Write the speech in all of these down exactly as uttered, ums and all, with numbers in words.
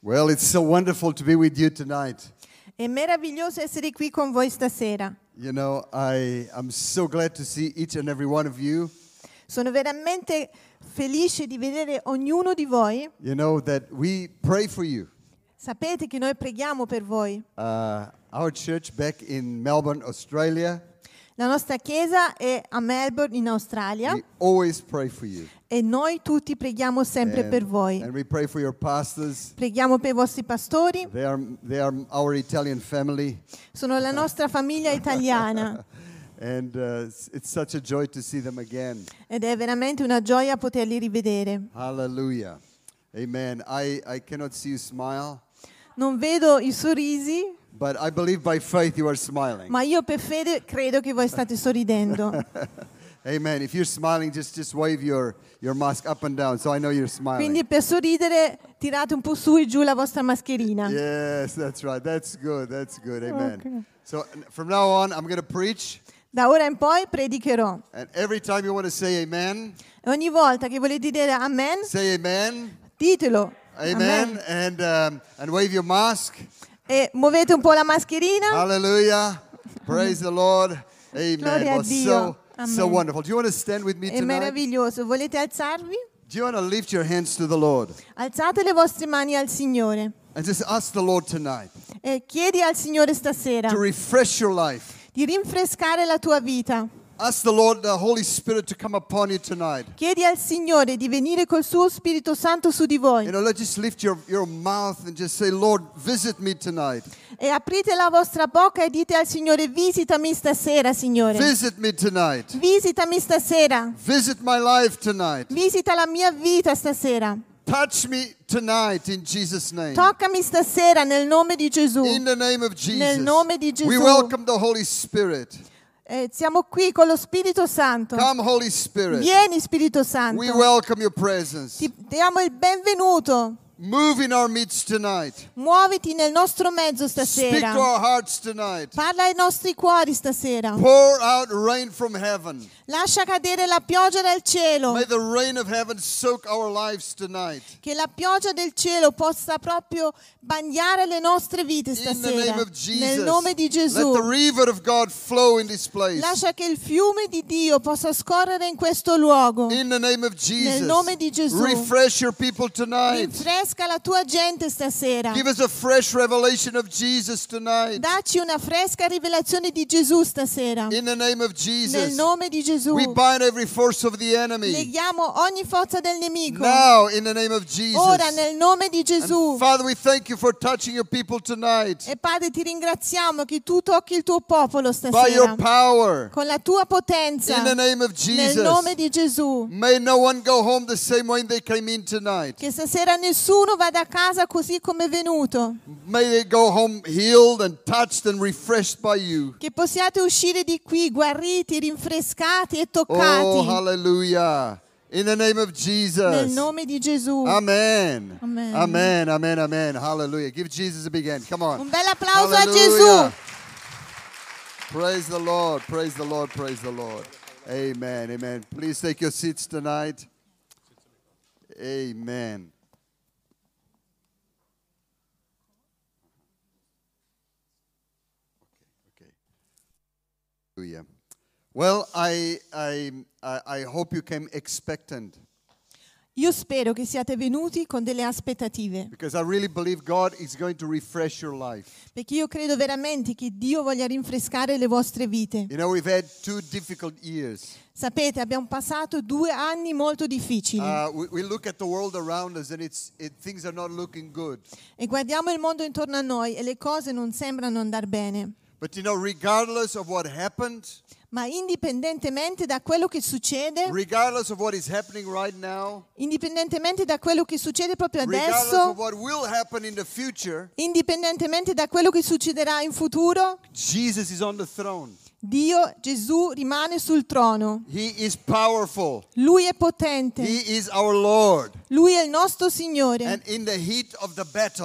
Well, it's so wonderful to be with you tonight. È meraviglioso essere qui con voi stasera. You know, I I'm so glad to see each and every one of you. Sono veramente felice di vedere ognuno di voi. You know that we pray for you. Sapete che noi preghiamo per voi. Uh, our church back in Melbourne, Australia. La nostra chiesa è a Melbourne in Australia. We always pray for you. E noi tutti preghiamo sempre And, per voi. and we pray for your pastors. Preghiamo per i vostri pastori. They are they are our Italian family. Sono la nostra famiglia italiana. And uh, it's, it's such a joy to see them again. Ed è veramente una gioia poterli rivedere. Hallelujah. Amen. I, I cannot see you smile, Non vedo i sorrisi, but I believe by faith you are smiling. ma io per fede credo che voi state sorridendo. Amen. If you're smiling, just, just wave your, your mask up and down so I know you're smiling. Quindi per sorridere tirate un po' su e giù la vostra mascherina. Yes, that's right. That's good. That's good. Amen. Okay. So n- from now on, I'm going to preach. Da ora in poi predicherò. And every time you want to say amen, E ogni volta che volete dire amen, say amen. ditelo. Amen. And, um, and wave your mask. E muovete un po' la mascherina. Hallelujah. Praise the Lord. Amen. Gloria a Well, Dio. so, Amen. so wonderful. Do you want to stand with me È tonight? meraviglioso. Volete alzarvi? Do you want to lift your hands to the Lord Alzate le vostre mani al Signore. and just ask the Lord tonight E chiedi al Signore stasera to refresh your life? di rinfrescare la tua vita. Ask the Lord, the Holy Spirit, to come upon you tonight. Chiedi al Signore di venire col suo Spirito Santo su di voi. You know, let's just lift your, your mouth and just say, Lord, visit me tonight. E aprite la vostra bocca e dite al Signore: visitami stasera, Signore. Visit me tonight. Visitami stasera. Visit my life tonight. Visita la mia vita stasera. Touch me tonight in Jesus' name. Toccami stasera nel nome di Gesù. In the name of Jesus. Nel nome di We Gesù. welcome the Holy Spirit. Eh, siamo qui con lo Spirito Santo. Come, Holy Spirit. Vieni, Spirito Santo. We welcome your presence. Ti diamo il benvenuto. Move in our midst tonight. Muoviti nel nostro mezzo Speak stasera. to our hearts tonight. Parla ai nostri cuori stasera. Pour out rain from heaven. Lascia cadere la pioggia dal cielo. May the rain of heaven soak our lives tonight. Che la pioggia del cielo possa proprio bagnare le nostre vite In the stasera. name of Jesus. Nel nome di Gesù. Let the river of God flow in this place. Lascia che il fiume di Dio possa scorrere in questo luogo. In the name of Jesus. Nel nome di Gesù. Refresh your people tonight. Rinfresca la tua gente stasera. Give us a fresh revelation of Jesus tonight. Dacci una fresca rivelazione di Gesù stasera. In the name of Jesus. Nel nome di Gesù. We bind every force of the enemy. Neghiamo ogni forza del nemico. Now, in the name of Jesus. Ora nel nome di Gesù. And Father, we thank you for touching your people tonight. E Padre, ti ringraziamo che tu tocchi il tuo popolo By your stasera. power. Con la tua potenza. In the name of Jesus. Nel nome di Gesù. May no one go home the same way they came in tonight. Che stasera nessuno vada a casa così come è venuto. May they go home healed and touched and refreshed by you. Che possiate uscire di qui guariti, rinfrescati e Oh, toccati. hallelujah. In the name of Jesus. Nel nome di Gesù. Amen. Amen. Amen. Amen. Amen. Hallelujah. Give Jesus a big hand. Come on. Un bel applauso a Hallelujah. Gesù. Praise the Lord. Praise the Lord. Praise the Lord. Amen. Amen. Please take your seats tonight. Amen. Okay. Hallelujah. Well, I, I, I I hope you came expectant Io spero che siate venuti con delle aspettative, because I really believe God is going to refresh your life. perché io credo veramente che Dio voglia rinfrescare le vostre vite. You know, we've had two difficult years. Sapete, abbiamo passato due anni molto difficili Uh, we, we look at the world around us and it's it, things are not looking good. e guardiamo il mondo intorno a noi e le cose non sembrano andare bene. But you know, regardless of what happened, Ma indipendentemente da quello che succede, regardless of what is happening right now, indipendentemente da quello che succede proprio regardless of adesso, what will happen in the future, indipendentemente da quello che succederà in futuro, Jesus is on the throne. Dio, Gesù, rimane sul trono. He is powerful. Lui è potente. He is our Lord. Lui è il nostro Signore. And in the heat of the battle,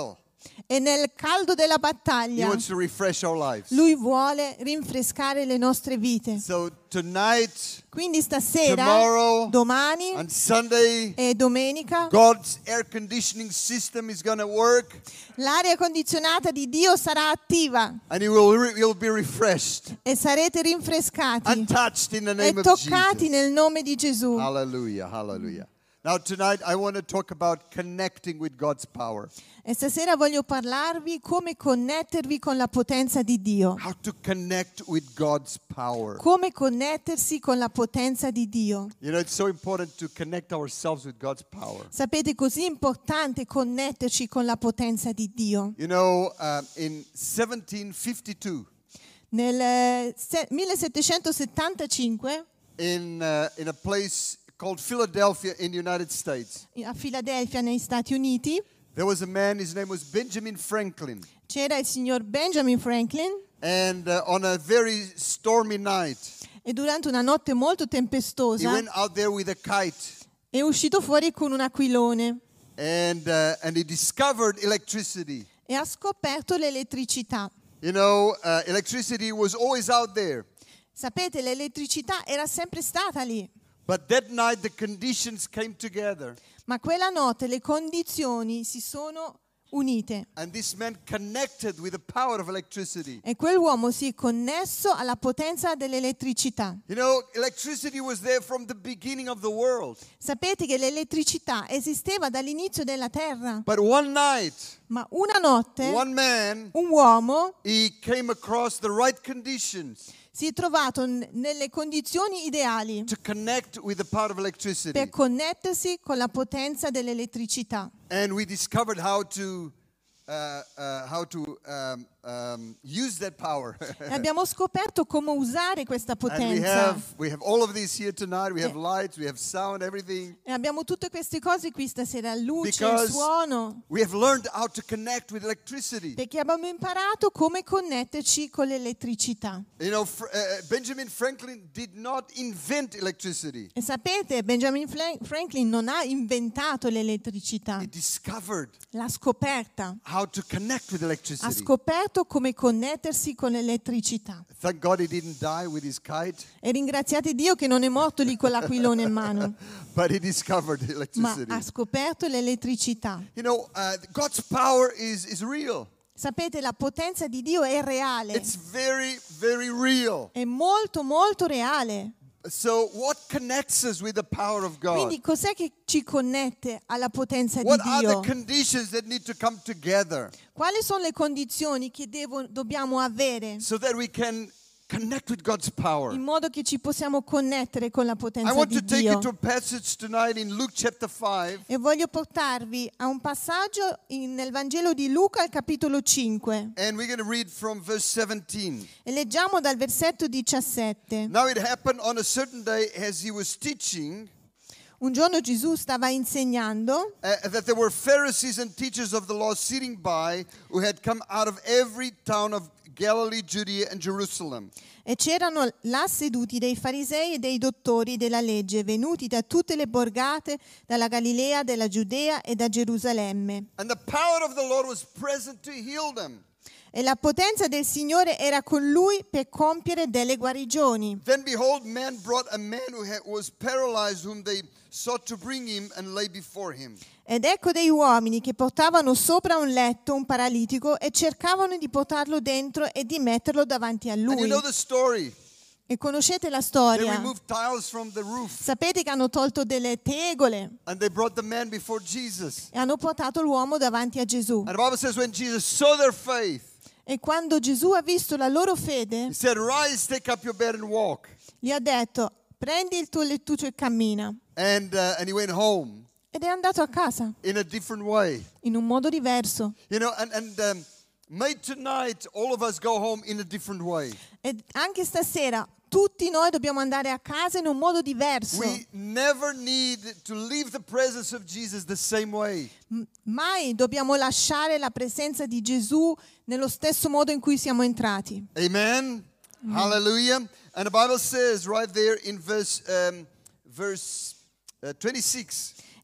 E nel caldo della He battaglia, wants to refresh our lives. Lui vuole rinfrescare le nostre vite. So tonight, Quindi stasera, tomorrow, domani on Sunday, e domenica, God's air conditioning system is going to work, l'aria condizionata di Dio sarà attiva and you will re- you'll be refreshed e sarete rinfrescati and touched in the e name of toccati Jesus. nel nome di Gesù. Hallelujah, hallelujah. Now tonight I want to talk about connecting with God's power. E stasera voglio parlarvi come connettervi con la potenza di Dio. How to connect with God's power. Come connettersi con la potenza di Dio. You know, it's so important to connect ourselves with God's power. Sapete, così importante connetterci con la potenza di Dio. You know, uh, in seventeen fifty-two, Nel eh, se- millesettecentosettantacinque in uh, in a place called Philadelphia in the United States, a Filadelfia, negli Stati Uniti, there was a man. His name was Benjamin Franklin, c'era il signor Benjamin Franklin and uh, on a very stormy night, e durante una notte molto he tempestosa went out there with a kite, è uscito fuori con un aquilone and uh, and he discovered electricity. e ha scoperto l'elettricità. You know, uh, electricity was always out there, Sapete, l'elettricità era sempre stata lì, but that night the conditions came together, ma quella notte le condizioni si sono unite and this man connected with the power of electricity. e quell'uomo si è connesso alla potenza dell'elettricità. You know, electricity was there from the beginning of the world, Sapete che l'elettricità esisteva dall'inizio della terra, but one night, ma una notte one man, un uomo he came across the right conditions si è trovato n- nelle condizioni ideali to connect with the power of electricity. per connettersi con la potenza dell'elettricità. And we discovered how to uh, uh, how to um, um, use that power. E abbiamo scoperto come usare questa And we potenza. have we have all of this here tonight. We have lights, we have sound, everything. E abbiamo tutte queste cose qui stasera, luce, Because suono, we have learned how to connect with electricity. perché abbiamo imparato come connetterci con l'elettricità. You know, Fr- uh, Benjamin Franklin did not invent electricity. E sapete, Benjamin Fla- Franklin non ha inventato l'elettricità, He discovered l'ha scoperta. how to connect with Ha electricity. scoperto come connettersi con l'elettricità. Thank God he didn't die with his kite, E ringraziate Dio che non è morto lì con l'aquilone in mano, but he discovered ma electricity. ha scoperto l'elettricità. You know, uh, God's power is, is real. Sapete, la potenza di Dio è reale, It's very, very real. è molto molto reale. So what connects us with the power of God? Quindi cos'è che ci connette alla potenza di What are the Dio? conditions that need to come together Quali sono le condizioni che devo- dobbiamo avere so that we can connect with God's power? in modo che ci possiamo connettere con la I potenza want di to take you Dio? to a passage tonight in Luke chapter five. E voglio portarvi a un passaggio in- nel Vangelo di Luca al capitolo cinque. And we're going to read from verse seventeen. E leggiamo dal versetto diciassette. Now it happened on a certain day as he was teaching Un giorno Gesù stava insegnando uh, that there were Pharisees and teachers of the law sitting by who had come out of every town of Galilee, Judea, and Jerusalem. e c'erano là seduti dei farisei e dei dottori della legge, venuti da tutte le borgate, dalla Galilea, dalla Giudea e da Gerusalemme. And the power of the Lord was present to heal them. E la potenza del Signore era con lui per compiere delle guarigioni. Then behold, man brought a man who had, was paralyzed, whom they sought to bring him and lay before him. Ed ecco dei uomini che portavano sopra un letto un paralitico e cercavano di portarlo dentro e di metterlo davanti a And you lui. know the story. E conoscete la They storia. removed tiles from the roof Sapete che hanno tolto delle tegole and they brought the man before Jesus. e hanno portato l'uomo davanti a Gesù. And the Bible says when Jesus saw their faith, E quando Gesù ha visto la loro fede, he said, "Rise, take up your bed and walk." gli ha detto: prendi il tuo lettuccio e cammina. And uh, and he went home Ed è andato a casa in a different way. in un modo diverso. You know, and and um, may tonight all of us go home in a different way. E anche stasera tutti noi dobbiamo andare a casa in un modo diverso. We never need to leave the presence of Jesus the same way. M- Mai dobbiamo lasciare la presenza di Gesù nello stesso modo in cui siamo entrati. Amen. Hallelujah. And the Bible says right there in verse um, verse uh, twenty-six.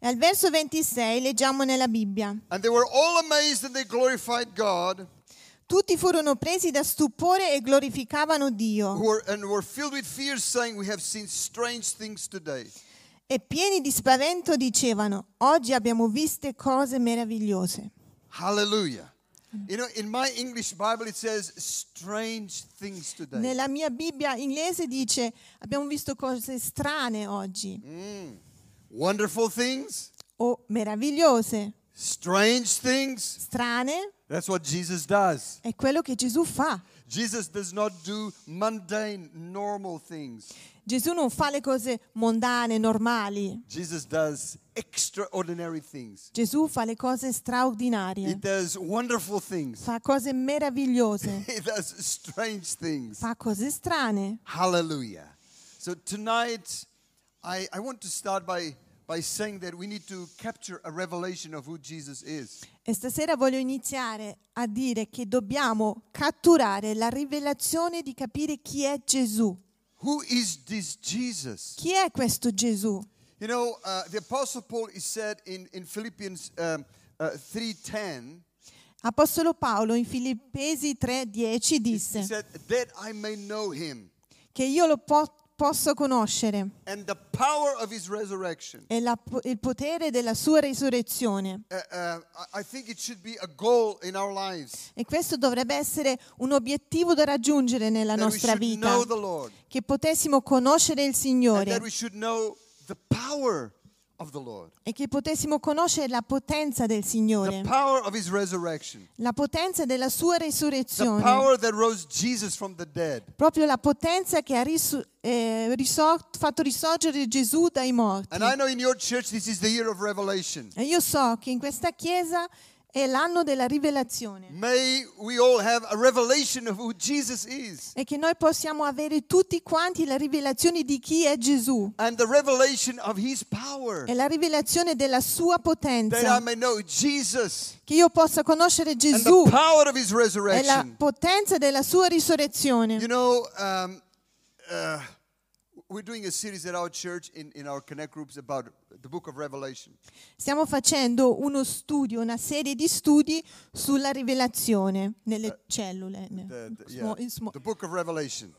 E al verso ventisei leggiamo nella Bibbia: And they were all amazed and they glorified God, tutti furono presi da stupore e glorificavano who Dio, were, and were filled with fear, saying, we have seen strange things today. e pieni di spavento dicevano: oggi abbiamo viste cose meravigliose. Hallelujah. You know, in my English Bible it says strange things today. Nella mia Bibbia inglese dice: abbiamo visto cose strane oggi, Mm. Wonderful things, o meravigliose. strange things. Strane That's what Jesus does. è quello che Gesù fa. Jesus does not do mundane, normal things. Gesù non fa le cose mondane, normali. Jesus does extraordinary things. Gesù fa le cose He straordinarie, does wonderful things. fa cose meravigliose, He does strange things. fa cose strane. Hallelujah. So tonight, I, I want to start by, by saying that we need to capture a revelation of who Jesus is. E stasera voglio iniziare a dire che dobbiamo catturare la rivelazione di capire chi è Gesù. Who is this Jesus? Chi è questo Gesù? You know, uh, the Apostle Paul is said in, in Philippians um, uh, three ten, Apostolo Paolo in Filippesi tre dieci he disse said, that I may know him che io lo po- posso conoscere and the power of his resurrection. e la- il potere della sua risurrezione. Uh, uh, I I think it should be a goal in our lives E questo dovrebbe essere un obiettivo da raggiungere nella that we nostra should vita, know the Lord che potessimo conoscere il and that Signore we should know the power of the Lord, e che potessimo conoscere la potenza del the Signore, power of his resurrection, la potenza della sua the risurrezione, power that rose Jesus from the dead. proprio la potenza che ha risu- eh, risor- fatto risorgere Gesù dai morti. And I know in your church this is the year of revelation. E io so che in questa chiesa è l'anno della rivelazione May we all have a revelation of who Jesus is e che noi possiamo avere tutti quanti la rivelazione di chi è Gesù and the revelation of his power, e la rivelazione della sua that I potenza, may know Jesus che io possa conoscere and Gesù the power of his e la resurrection. potenza della sua risurrezione. You know, um, uh, we're doing a series at our church in, in our connect groups about the book of Revelation. Stiamo facendo uno studio, una serie di studi sulla rivelazione nelle cellule. ne- The, the- smo- yeah, in smo- the book of Revelation,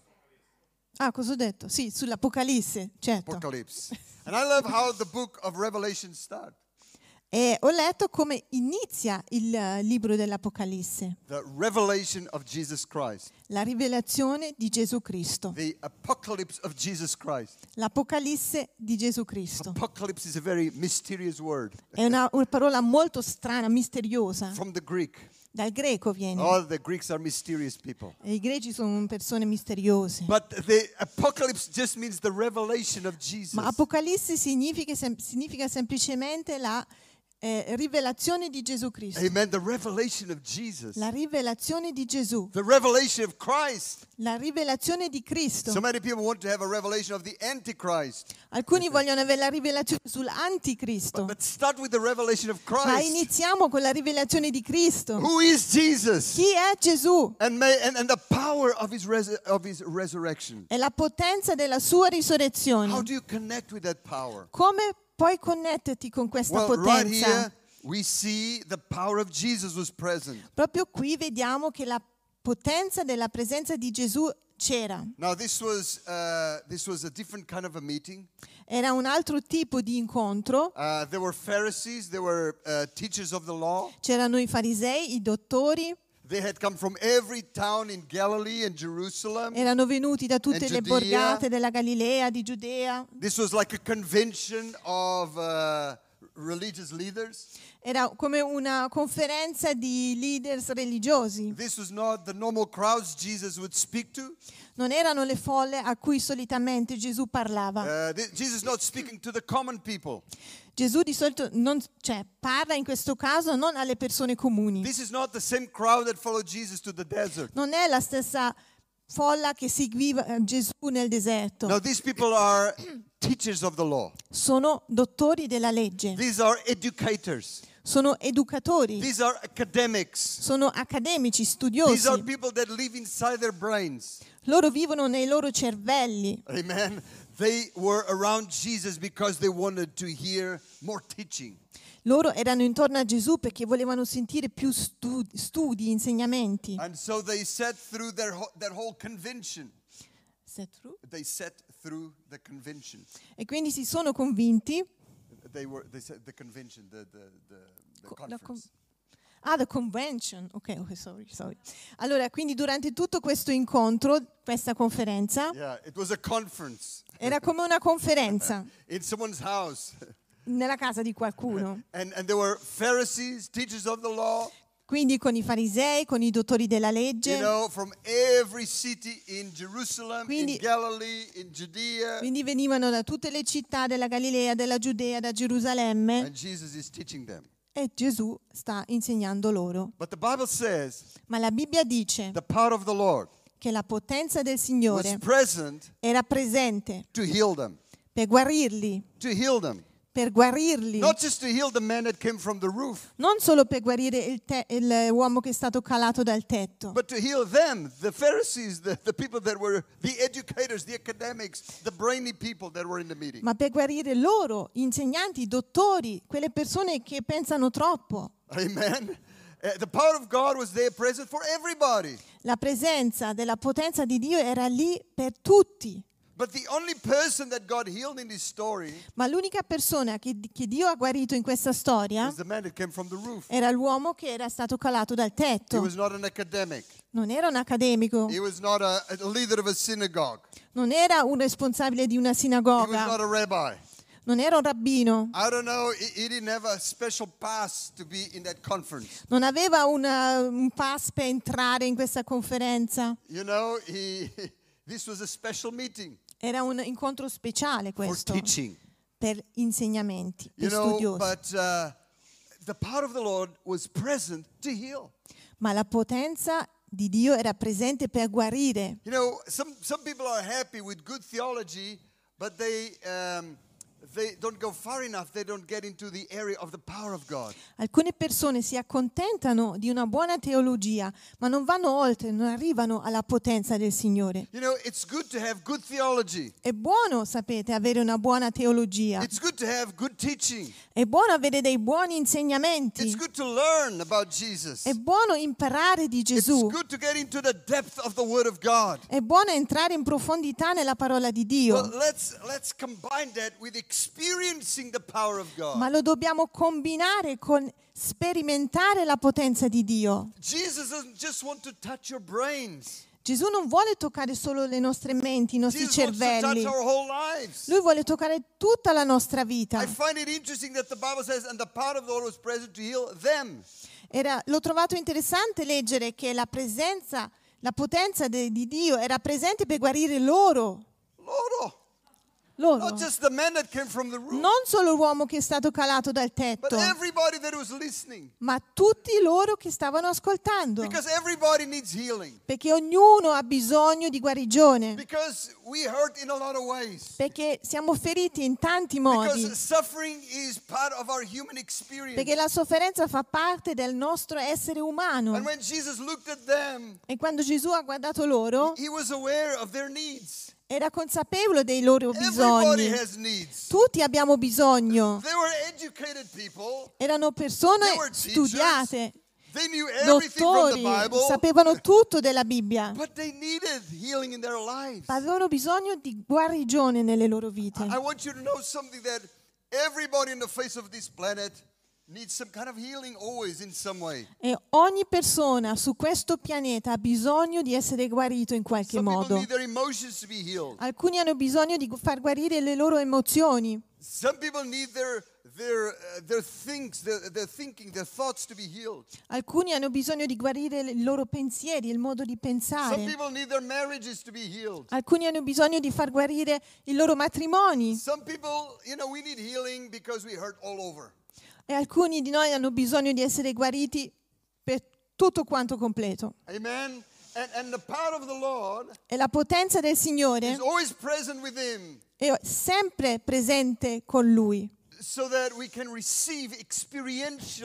Ah, cosa ho detto? Sì, sull'Apocalisse, certo. Apocalypse. And I love how the book of Revelation starts. E ho letto come inizia il eh, libro dell'Apocalisse, The revelation of Jesus Christ. la rivelazione di Gesù Cristo, The apocalypse of Jesus Christ. l'Apocalisse di Gesù Cristo. Apocalypse is a very mysterious word È una, una parola molto strana, misteriosa, from the Greek. dal greco viene. All the Greeks are mysterious people. E i greci sono persone misteriose. But the apocalypse just means the revelation of Jesus. Ma Apocalisse significa, sem- significa semplicemente la eh, rivelazione di Gesù Cristo. Amen. The revelation of Jesus. La rivelazione di Gesù, The revelation of Christ. la rivelazione di Cristo. So many people want to have a revelation of the Antichrist. Alcuni vogliono avere la rivelazione sull'anticristo, But start with the revelation of ma Christ. iniziamo con la rivelazione di Cristo. Who is Jesus? Chi è Gesù? And, may, and, and the power of his, res, of his resurrection. E la potenza della sua How risurrezione. do you connect with that power? Come puoi connetterti con questa Well, right potenza? here we see the power of Jesus was present. Proprio qui vediamo che la potenza della presenza di Gesù c'era. Now this was uh, this was a different kind of a meeting. Era un altro tipo di incontro. Uh, there were Pharisees, there were uh, teachers of the law. C'erano i farisei, i dottori, They had come from every town in Galilee and Jerusalem. erano venuti da tutte And le Giudea. borgate della Galilea, di Giudea. This was like a convention of uh, religious leaders. Era come una conferenza di leaders religiosi. This was not the normal crowds Jesus would speak to. Non erano le folle a cui solitamente Gesù parlava. Uh, th- Jesus is not speaking to the common people. Gesù di solito non, cioè, parla in questo caso non alle persone comuni. This is not the same crowd that followed Jesus to the desert. Non è la stessa folla che seguiva eh, Gesù nel deserto. Now these people are teachers of the law. Sono dottori della legge, These are educators. sono educatori, These are academics. sono accademici, These are studiosi. people that live inside their brains. Loro vivono nei loro cervelli. Amen. They were around Jesus because they wanted to hear more teaching. Loro erano intorno a Gesù perché volevano sentire più studi, studi insegnamenti. And so they sat through their whole, their whole convention. Set through? They sat through the convention. E quindi si sono convinti. They were they said the convention, the the the, the Co- la conference. Ah, the convention. Ok, ok, sorry, sorry. Allora, quindi durante tutto questo incontro, questa conferenza, Yeah, it was a conference era come una conferenza in someone's house. nella casa di qualcuno. And and there were Pharisees, teachers of the law, Quindi con i farisei, con i dottori della legge, you know, from every city in Jerusalem, Quindi- in Galilee, in Judea. quindi venivano da tutte le città della Galilea, della Giudea, da Gerusalemme, And Jesus is teaching them. e Gesù sta insegnando loro. But the Bible says Ma la Bibbia dice the power of the Lord che la potenza del was Signore present era presente to heal them. per guarirli, To heal them. per guarirli, Not just to heal the man that came from the roof, non solo per guarire il te- il- l'uomo che è stato calato dal tetto, but to heal them, the Pharisees, the, the people that were the educators, the academics, the brainy people that were in the meeting. ma per guarire loro, insegnanti, dottori, quelle persone che pensano troppo. Amen. Uh, the power of God was there present for everybody. La presenza della potenza di Dio era lì per tutti. But the only person that God healed in this story Ma l'unica persona che, che Dio ha guarito in questa storia is the man that came from the roof. era l'uomo che era stato calato dal He tetto. was not an academic. Non era un accademico, He was not a, a leader of a synagogue. non era un responsabile di una He was not sinagoga, a rabbi. non era un rabbino, I don't know. He, he didn't have a special pass to be in that conference. non aveva una- un pass per entrare in questa conferenza. You know, he, this was a special meeting Era un incontro speciale for questo teaching. per insegnamenti, You per know, studiosi. but uh, the power of the Lord was present to heal. Ma la potenza di Dio era presente per guarire. You know, some, some people are happy with good theology, but they, um, they don't go far enough. They don't get into the area of the power of God. Alcune persone si accontentano di una buona teologia, ma non vanno oltre, non arrivano alla potenza del Signore. You know, it's good to have good theology. È buono, sapete, avere una buona teologia. It's good to have good teaching. È buono avere dei buoni It's insegnamenti. good to learn about Jesus. È buono imparare di It's Gesù. good to get into the depth of the Word of God. È buono entrare in profondità nella parola di Dio. But let's let's combine that with experiencing the power of God. Ma lo dobbiamo combinare con sperimentare la potenza di Dio. Jesus doesn't just want to touch your brains. Gesù non vuole toccare solo le nostre menti, i nostri Jesus wants to cervelli. touch our whole lives. Lui vuole toccare tutta la nostra vita. I find it interesting that the Bible says, and the power of the Lord was present to heal them. Era- l'ho trovato interessante leggere che la presenza, la potenza de- di Dio era presente per guarire loro. Lord, Loro. not just the man that came from the roof, Non solo l'uomo che è stato calato dal but tetto, everybody that was listening. ma tutti loro che stavano ascoltando. Because everybody needs healing. Perché ognuno ha bisogno di guarigione. Because we hurt in a lot of ways. Perché siamo feriti in tanti modi. Because suffering is part of our human experience. Perché la sofferenza fa parte del nostro essere umano. And when Jesus looked at them, E quando Gesù ha guardato loro, he was aware of their needs. era consapevole dei loro Everybody bisogni. has needs. Tutti abbiamo bisogno. They were educated people. Erano persone They were teachers. studiate, They knew everything from the dottori, Bible. sapevano tutto della Bibbia, But they needed healing in their lives. ma avevano bisogno di guarigione nelle loro vite. I want you to know something, that everybody on the face of this planet needs some kind of healing always in some way. E ogni persona su questo pianeta ha bisogno di essere guarito in qualche Some people modo. need their emotions to be healed. Alcuni hanno bisogno di far guarire le loro emozioni. Some people need their their uh, their things, their, their thinking, their thoughts to be healed. Alcuni hanno bisogno di guarire i loro pensieri, il modo di Some pensare. people need their marriages to be healed. Alcuni hanno bisogno di far guarire i loro matrimoni. Some people, you know, we need healing because we hurt all over. E alcuni di noi hanno bisogno di essere guariti per tutto quanto completo. Amen. And and the power of the Lord E la potenza del is Signore always present with him, è sempre presente con Lui, so that we can receive experientially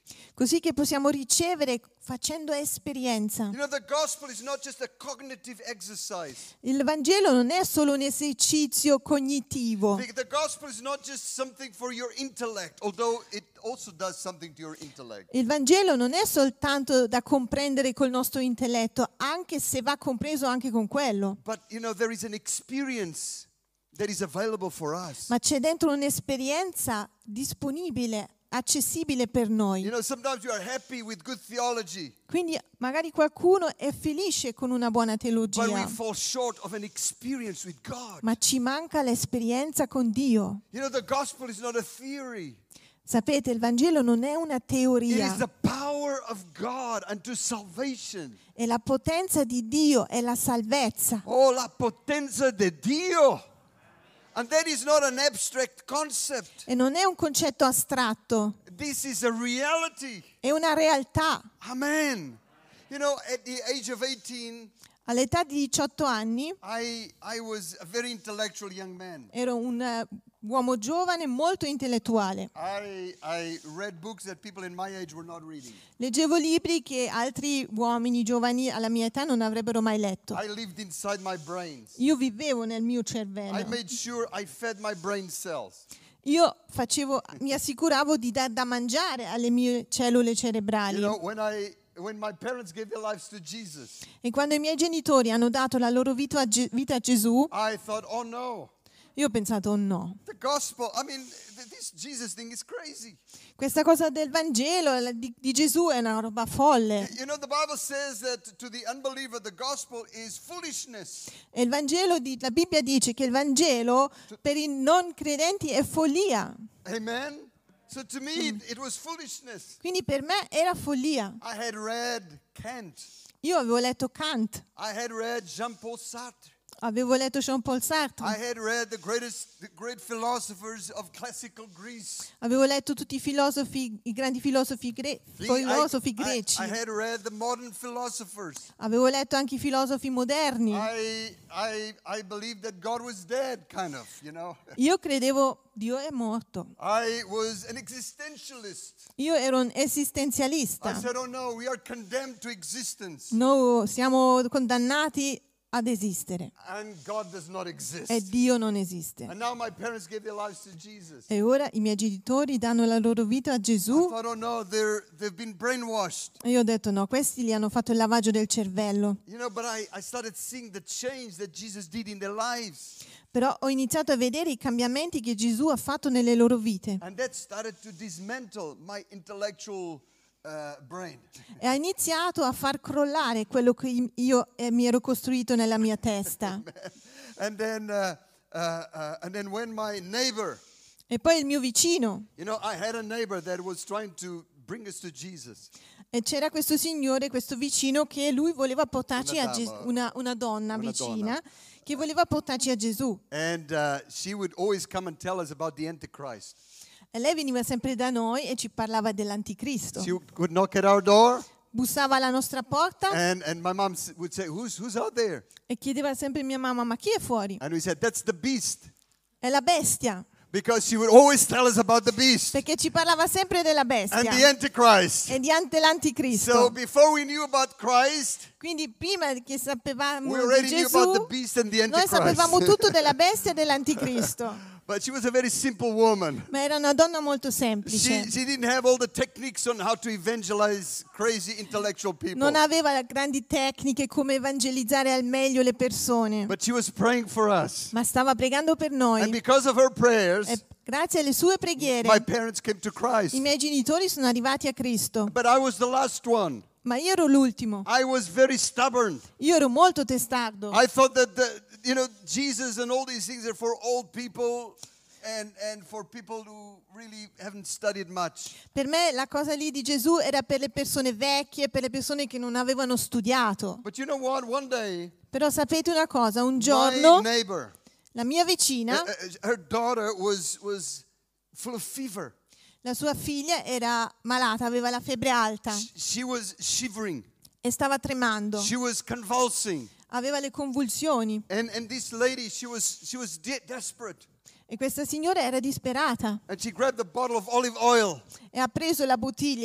così che possiamo ricevere facendo esperienza. You know, the gospel is not just a cognitive exercise. Il Vangelo non è solo un esercizio cognitivo. The, the gospel is not just something for your intellect, although it also does something to your intellect. Il Vangelo non è soltanto da comprendere col nostro intelletto, anche se va compreso anche con quello. But, you know, there is an experience that is available for us. Ma c'è dentro un'esperienza disponibile, accessibile per noi. You know, sometimes you are happy with good theology, Quindi magari qualcuno è felice con una buona but we teologia, fall short of an experience with God. ma ci manca l'esperienza con Dio. You know, the gospel is not a theory. Sapete, il Vangelo non è una It is teoria, the power of God unto salvation. è la potenza di Dio, è la salvezza. Oh, la potenza de Dio. And that is not an abstract concept. E non è un concetto astratto, This is a reality. è una realtà. Amen. You know, at the age of eighteen, All'età di diciotto anni I I was a very intellectual young man. ero un eh, uomo giovane molto intellettuale. I I read books that people in my age were not reading. Leggevo libri che altri uomini giovani alla mia età non avrebbero mai letto. I lived inside my brains. Io vivevo nel mio I cervello. made sure I fed my brain cells. Io facevo, mi assicuravo di dar da mangiare alle mie cellule You cerebrali. know, when I when my parents gave their lives to Jesus, E quando i miei genitori hanno dato la loro vita a, Ge- vita a Gesù, I thought, "Oh no. io ho pensato, oh no, The gospel, I mean, th- this Jesus thing is crazy." questa cosa del Vangelo la- di, di Gesù è una roba folle. You know, the Bible says that to the unbeliever, the gospel is foolishness. E il Vangelo, di, la Bibbia dice che il Vangelo per i non credenti è follia. Amen? So to me, it, it was foolishness. Quindi per me era follia. I had read Kant. Io avevo letto Kant, I had read Jean-Paul Sartre. avevo letto Jean-Paul I Sartre, had read the greatest, the great philosophers of classical Greece. avevo letto tutti i filosofi, i grandi filosofi, gre- The- filosofi I, greci, I, I had read the modern philosophers. avevo letto anche i filosofi moderni. I, I, I believed that God was dead, kind of, you know. Io credevo Dio è morto. I was an existentialist. Io ero un I esistenzialista. said, "Oh no, we are condemned to existence, Noi siamo condannati ad esistere and God does not exist." e Dio non esiste. And now my parents gave their lives to Jesus. E ora i miei genitori danno la loro vita a I Gesù thought, "Oh no, they're they've been brainwashed." e io ho detto no, questi gli hanno fatto il lavaggio del cervello. You know, but I, I started seeing the change that Jesus did in their lives. Però ho iniziato a vedere i cambiamenti che Gesù ha fatto nelle loro vite And that started to dismantle my intellectual uh, brain. e ha iniziato a far crollare quello che io eh, mi ero costruito nella mia testa. And then, uh, uh, uh, and then when my neighbor, E poi il mio vicino, you know, I had a neighbor that was trying to bring us to Jesus. e c'era questo signore, questo vicino, che lui voleva portarci Una a Gesù, dama. una, una donna Una vicina, donna. che voleva portarci a Gesù. And uh, she would always come and tell us about the Antichrist. E lei veniva sempre da noi e ci parlava dell'anticristo. She would knock at our door, Bussava alla nostra porta and, and my mom s- would say, who's, who's out there? e chiedeva sempre a mia mamma, ma chi è fuori? And we said, that's the beast. È la bestia, Because she would always tell us about the beast perché ci parlava sempre della and the bestia Antichrist. e di an- So dell'anticristo. before we knew about Christ, Quindi prima che sapevamo we di already knew Gesù, about the beast and the noi sapevamo tutto Antichrist. della bestia e dell'anticristo. But she was a very simple woman. Ma era una donna molto She, semplice. she didn't have all the techniques on how to evangelize crazy intellectual people. Non aveva grandi tecniche come evangelizzare al meglio le persone, But she was praying for us. ma stava pregando per And noi. because of her prayers, E grazie alle sue my preghiere parents came to i Christ. miei genitori sono arrivati a Cristo. But I was the last one. Ma io ero l'ultimo. I was very stubborn. Io ero molto testardo. I thought that, the, you know, Jesus and all these things are for old people and, and for people who really haven't studied much. Per me la cosa lì di Gesù era per le persone vecchie, per le persone che non avevano studiato. But you know what? One day, Però sapete una cosa, un my giorno neighbor, la mia uh, vicina, uh, her daughter was, was full of fever. la sua figlia era malata, aveva la febbre alta Sh- She was shivering. e stava tremando, She was convulsing. aveva le convulsioni And, and this lady, she was, she was de- desperate. e questa signora era disperata And she grabbed a bottle of olive oil e ha preso la bottiglia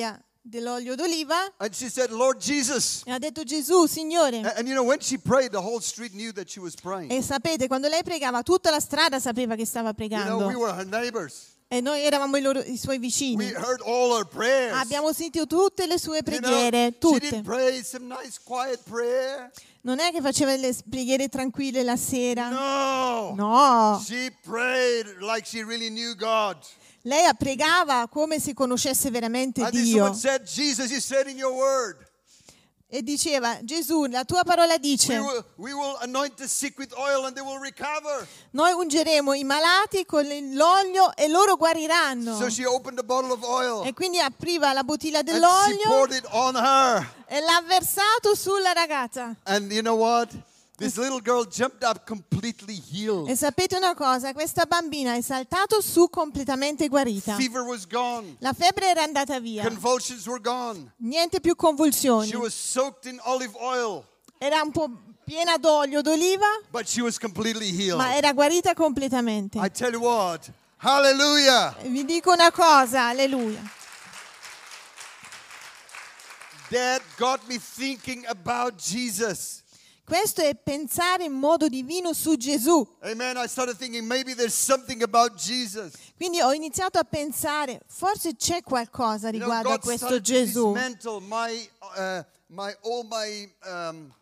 dell'olio d'oliva and she said, Lord Jesus. e ha detto Gesù, Signore. And, and you know, when she prayed, the whole street knew that she was praying. E sapete, quando lei pregava, tutta la strada sapeva che stava You know, we pregando. were her neighbors. E noi eravamo i, loro, i suoi We vicini. heard all her prayers. Abbiamo sentito tutte le sue You know, preghiere, she tutte. didn't pray some nice quiet prayer. Non è che faceva le preghiere tranquille la sera. No. No. She prayed like she really knew God. Lei pregava come se conoscesse veramente And this Dio. woman said, Jesus, you said in your word, E diceva, Gesù, la tua parola we dice, will, we will anoint the sick with oil and they will recover. noi ungeremo i malati con l'olio e loro guariranno. So she opened a bottle of oil E quindi apriva la bottiglia and she dell'olio poured it on her. e l'ha versato sulla ragazza. And you know what? This little girl jumped up completely healed. E sapete una cosa? Questa bambina è saltato su completamente guarita. Fever was gone. La febbre era andata via. Convulsions were gone. Niente più convulsioni. She was soaked in olive oil, Era un po' piena d'olio d'oliva, but she was completely healed. ma era guarita completamente. I tell you what, hallelujah. E vi dico una cosa, alleluia. That got me thinking about Jesus. Questo è pensare in modo divino su Gesù. Amen. I started thinking maybe there's something about Jesus. Quindi ho iniziato a pensare, forse c'è qualcosa You know, riguardo a God questo started to Gesù. dismantle my, uh, my, all my um,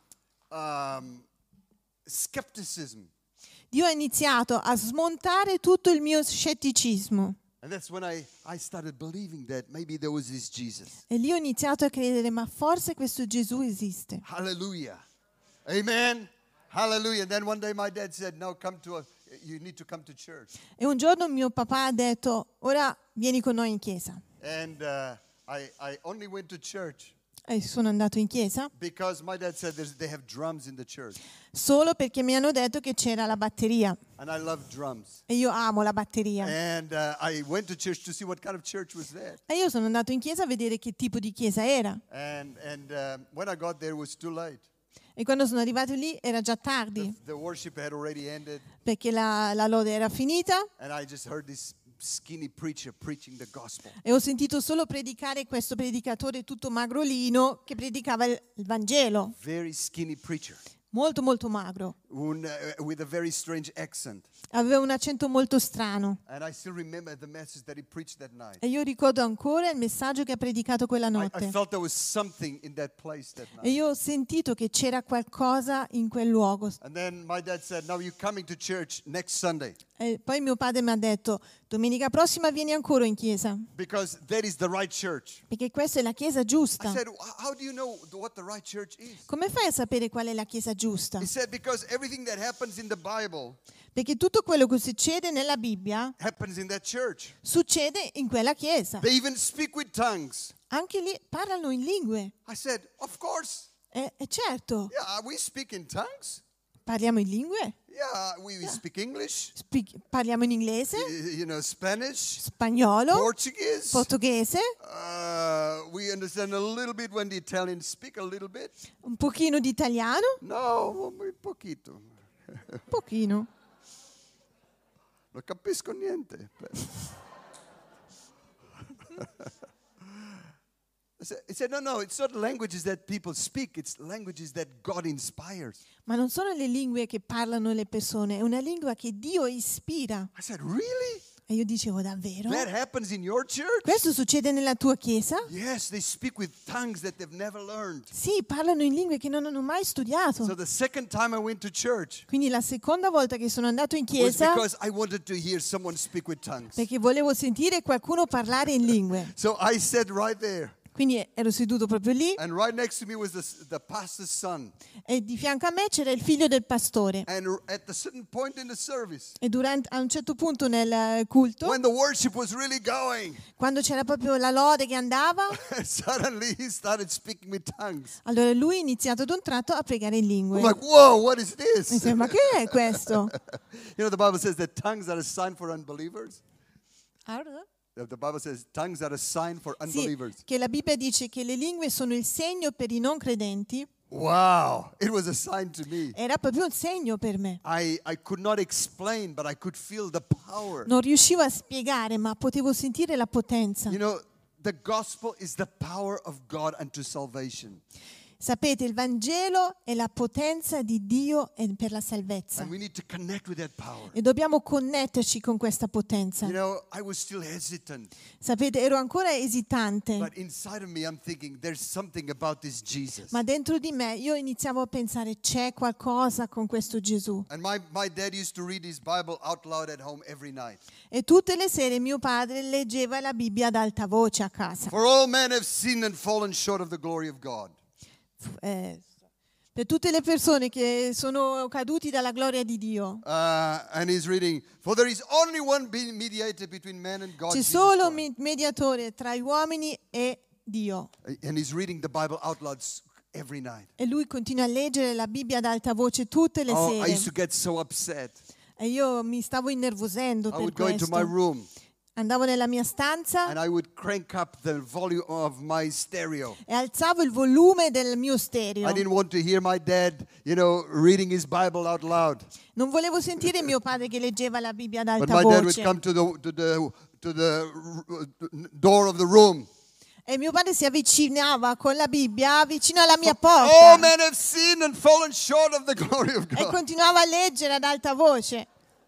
um, skepticism. Dio ha iniziato a smontare tutto il mio scetticismo. And that's when I, I started believing that maybe there was this Jesus. E lì ho iniziato a credere, ma forse questo Gesù esiste. Hallelujah. Amen. Hallelujah. And then one day my dad said, no, come to a, you need to come to church. E un giorno mio papà ha detto, ora vieni con noi in chiesa. And uh, I, I only went to church E sono andato in chiesa because my dad said there's, they have drums in the church. solo perché mi hanno detto che c'era la batteria. And I love drums. E io amo la batteria. And uh, I went to church to see what kind of church was that. E io sono andato in chiesa a vedere che tipo di chiesa era. And, and um, when I got there, it was too late. E quando sono arrivato lì era già The, tardi, the worship had already ended. perché la, la lode era finita And I just heard this skinny preacher preaching the gospel. e ho sentito solo predicare questo predicatore tutto magrolino che predicava il, il Vangelo, Very skinny preacher molto molto magro. un, uh, with a very strange accent. Aveva un accento molto strano. And I still remember the message that he preached that night. E io ricordo ancora il messaggio che ha predicato quella I, I notte. felt there was something in that place that E night. io ho sentito che c'era qualcosa in quel luogo. And then my dad said, now you're coming to church next Sunday E poi mio padre mi ha detto, domenica prossima vieni ancora in chiesa, because that is the right church. perché questa è la chiesa I giusta. said, how do you know what the right church is? Come fai a sapere qual è la chiesa giusta? He said, because everything that happens in the Bible Perché tutto quello che succede nella Bibbia happens in that church. succede in quella chiesa. They even speak with tongues. Anche lì parlano in lingue. I said, of course. E, e certo, Yeah, we speak in tongues. parliamo in lingue. Yeah, we, we speak English, Spi- parliamo in inglese, y- you know, Spanish, spagnolo, Portuguese. portoghese, Uh, we understand a little bit when the Italians speak a little bit. un pochino di italiano, No, muy poquito. un pochino. Non capisco niente. I said- He said, no, no, it's not languages that people speak, it's languages that God inspires. Ma non sono le lingue che parlano le persone, è una lingua che Dio ispira. I said, really? E io dicevo, davvero? That happens in your church? Questo succede nella tua chiesa? Yes, they speak with tongues that they've never learned. Sì, parlano in lingue che non hanno mai studiato. So the second time I went to church Quindi la seconda volta che sono andato in was chiesa, because I wanted to hear someone speak with tongues. perché volevo sentire qualcuno parlare in lingue. So I sat right there. Quindi ero seduto proprio lì And right next to me was the, the pastor's son. e di fianco a me c'era il figlio del pastore. And at a certain point in the service, E durante, a un certo punto nel eh, culto, when the worship was really going, quando c'era proprio la lode che andava, suddenly he started speaking with tongues. allora lui ha iniziato ad un tratto a pregare in lingue. I'm like, whoa, what is Mi this? sembra, ma che è questo? You know, the Bible says that tongues are a sign for unbelievers. Ah, The the Bible says tongues are a sign for Sì, unbelievers. che la Bibbia dice che le lingue sono il segno per i non credenti. Wow, it was a sign to me. Era proprio un segno per me. I, I could not explain, but I could feel the power. Non riuscivo a spiegare, ma potevo sentire la potenza. You know, the gospel is the power of God unto salvation. Sapete, il Vangelo è la potenza di Dio e per la salvezza. And we need to connect with that power. E dobbiamo connetterci con questa potenza. You know, I was still hesitant. Sapete, ero ancora esitante, But inside of me, I'm thinking, there's something about this Jesus. ma dentro di me io iniziavo a pensare, c'è qualcosa con questo Gesù. And my, my dad used to read his Bible out loud at home every night. E tutte le sere mio padre leggeva la Bibbia ad alta voce a casa. For all men have sinned and fallen short of the glory of God. Eh, per tutte le persone che sono caduti dalla gloria di Dio. Uh, and he's reading, for there is only one be- mediator between man and God, C'è Jesus solo un Christ. mi- mediatore tra gli uomini e Dio. And he's reading the Bible out loud s- every night. E lui continua a leggere la Bibbia ad alta voce tutte le Oh, I used sere. to get so upset. E io mi stavo innervosendo I per would go into my questo. room Andavo nella mia stanza and I would crank up the volume of my stereo. e alzavo il volume del mio stereo. I didn't want to hear my dad, you know, reading his Bible out loud. Non volevo sentire mio padre che leggeva la Bibbia ad But alta my dad would voce. come to the to the to the r- door of the room. E mio padre si avvicinava con la Bibbia vicino alla mia All porta men have sinned and fallen short of the glory of e God. continuava a leggere ad alta voce.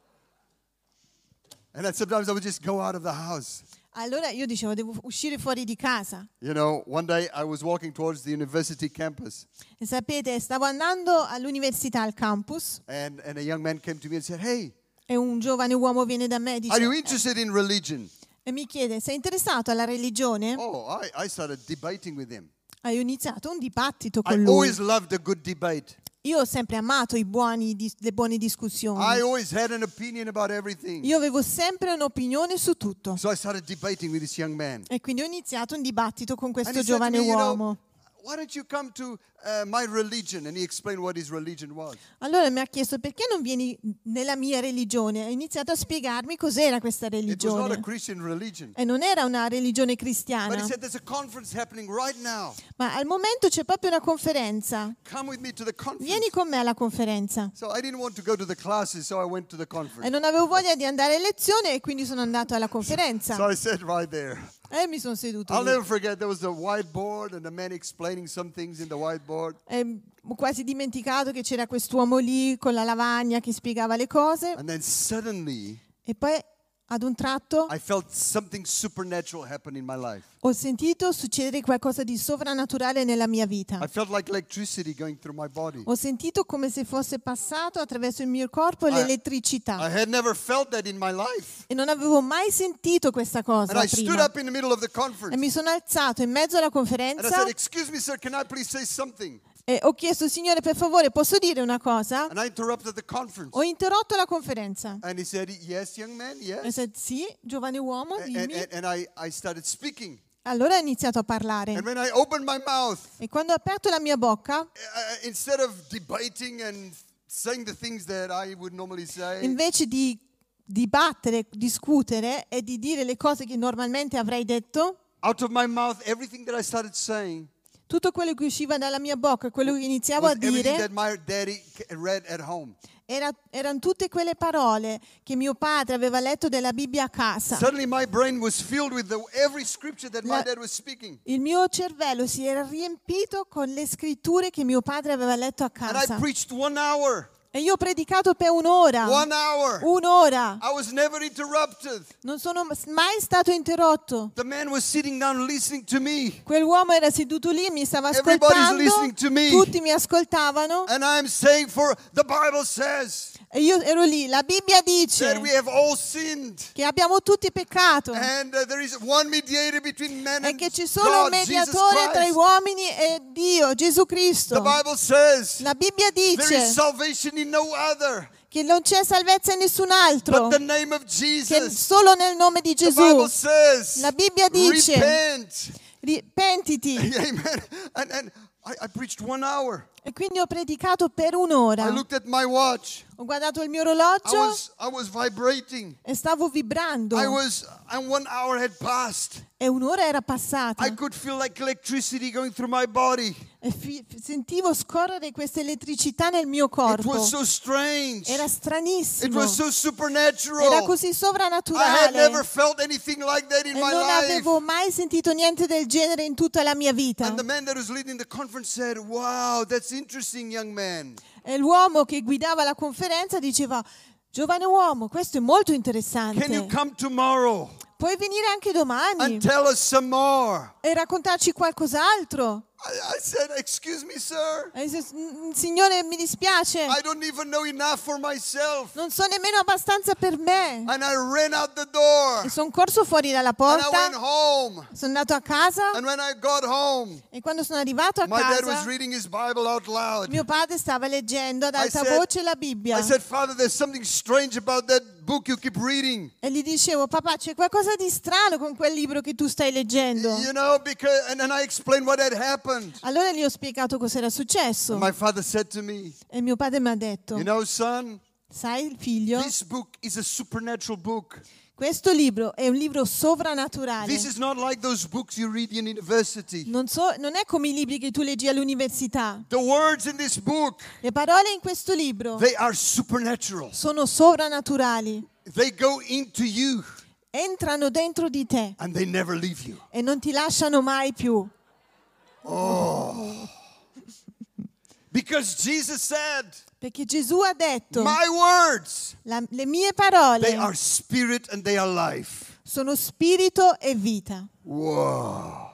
And then sometimes I would just go out of the house. Allora io dicevo, devo uscire fuori di casa. You know, one day I was walking towards the university campus, E sapete, stavo andando all'università, al campus, and, and a young man came to me and said, "Hey, e un giovane uomo viene da me e are you dice, interested in religion?" e mi chiede, sei interessato alla religione? Oh, I, I started debating with him. E ho iniziato un dibattito I con lui. always loved a good debate. Io ho sempre amato i buoni, dis- le buone I discussioni. always had an opinion about everything. Io avevo sempre un'opinione su tutto. So I started debating with this young man. E quindi ho iniziato un dibattito con And questo he said to giovane me, you know, uomo. why don't you come to uh, my religion? And he explained what his religion was. Allora mi ha chiesto, perché non vieni nella mia religione? Ha iniziato a spiegarmi cos'era questa It was not a religione. Christian religion. E non era una religione But he cristiana. said, there's a conference happening right now. Ma al momento c'è proprio una conferenza. Come with me to the conference. Vieni con me alla conferenza. So I didn't want to go to the classes, so I went to the conference. E non avevo voglia di andare a lezione e quindi sono andato alla conferenza. So I sat right there. E mi sono seduto I'll lì. never forget, there was the whiteboard and the man explaining some things in the whiteboard. E ho quasi dimenticato che c'era quest'uomo lì con la lavagna che spiegava le cose. And then suddenly, E poi ad un tratto I felt something supernatural happen in my life. ho sentito succedere qualcosa di sovrannaturale nella mia vita. I felt like electricity going through my body. Ho sentito come se fosse passato attraverso il mio corpo I l'elettricità. had never felt that in my life. E non avevo mai sentito questa cosa And I stood prima. up in the middle of the E conference. mi sono alzato in mezzo alla And I conferenza said, excuse me, sir, can I please say something? e ho chiesto, Signore, per favore, posso dire una cosa? And I interrupted the conference. Ho interrotto la conferenza. And he said, yes, young man, E yes. said, sì, giovane uomo, And, dimmi. and, and I, I started speaking. Allora ho iniziato a parlare. And when I opened my mouth, E quando ho aperto la mia bocca, uh, instead of debating and saying the things that I would normally say, invece di dibattere, discutere e di dire le cose che normalmente avrei detto, out of my mouth, everything that I started saying tutto quello che usciva dalla mia bocca, quello che iniziavo was a everything dire, that my daddy c- read at home. era- erano tutte quelle parole che mio padre aveva letto della Bibbia a casa. Suddenly my brain was filled with the, every scripture that my La- dad was speaking. Il mio cervello si era riempito con le scritture che mio padre aveva letto a And I casa. preached one hour. E io ho predicato per un'ora. One hour. Un'ora. I was never interrupted. Non sono mai stato interrotto. The man was sitting down listening to me. Quell'uomo era seduto lì, mi stava Everybody's ascoltando. listening to me. Tutti mi ascoltavano. And I'm saying, for the Bible says E io ero lì. La Bibbia dice that we have all sinned. che abbiamo tutti peccato. And uh, there is one mediator between men E and che c'è solo un God, Jesus mediatore tra gli Christ. uomini e Dio, Gesù The Cristo. Bible says La Bibbia there is dice salvation in no other che non c'è salvezza in nessun altro, but the name of che Jesus. solo nel nome di The Gesù. Bible says, La Bibbia dice, repent. ri- pentiti. Amen. And, and I, I preached one hour. E quindi ho predicato per I un'ora. looked at my watch. Ho guardato il mio I orologio was, I was vibrating. e stavo vibrando. I was, and one hour had passed. E un'ora era passata. I could feel like electricity going through my body. E fi- sentivo scorrere questa elettricità nel mio It corpo. was so strange. Era It stranissimo. was so supernatural. Era così I had sovrannaturale. never felt anything like that in E my non life. avevo mai sentito niente del genere in tutta la mia vita. And the man that was leading the conference said, "Wow, that's interesting, young man. E l'uomo che guidava la conferenza diceva: giovane uomo, questo è molto Can you interessante. come tomorrow Puoi venire anche domani and tell us some more?" e raccontarci qualcos'altro? I, I said, "Excuse me, sir. E dice, "Mm, Signore, mi dispiace, I don't even know enough for myself." non so nemmeno abbastanza per me." And I ran out the door. E sono corso fuori dalla And I went porta, home. sono andato a casa And when I got home, e quando sono arrivato a my dad was casa reading his Bible out loud. mio padre stava leggendo ad I alta said- voce la Bibbia. I said, "Father, there's something strange about that book you keep reading." E gli dicevo: papà, c'è qualcosa di strano con quel libro che tu stai leggendo. You know, because, and then I explained what had happened. Allora gli ho spiegato cosa era successo. My father said to me, E mio padre mi ha detto: "You know, son, sai, figlio, this book is a supernatural book. questo libro è un libro sovrannaturale. This is not like those books you read in university. Non, so, non è come i libri che tu leggi all'università. The words in this book, Le parole in questo libro they are supernatural. sono sovrannaturali. They go into you Entrano dentro di te and they never leave you." e non ti lasciano mai più. Because Jesus said, Perché Gesù ha detto: "My words, "La- le mie they parole are spirit and they are life." sono spirito e vita." Whoa.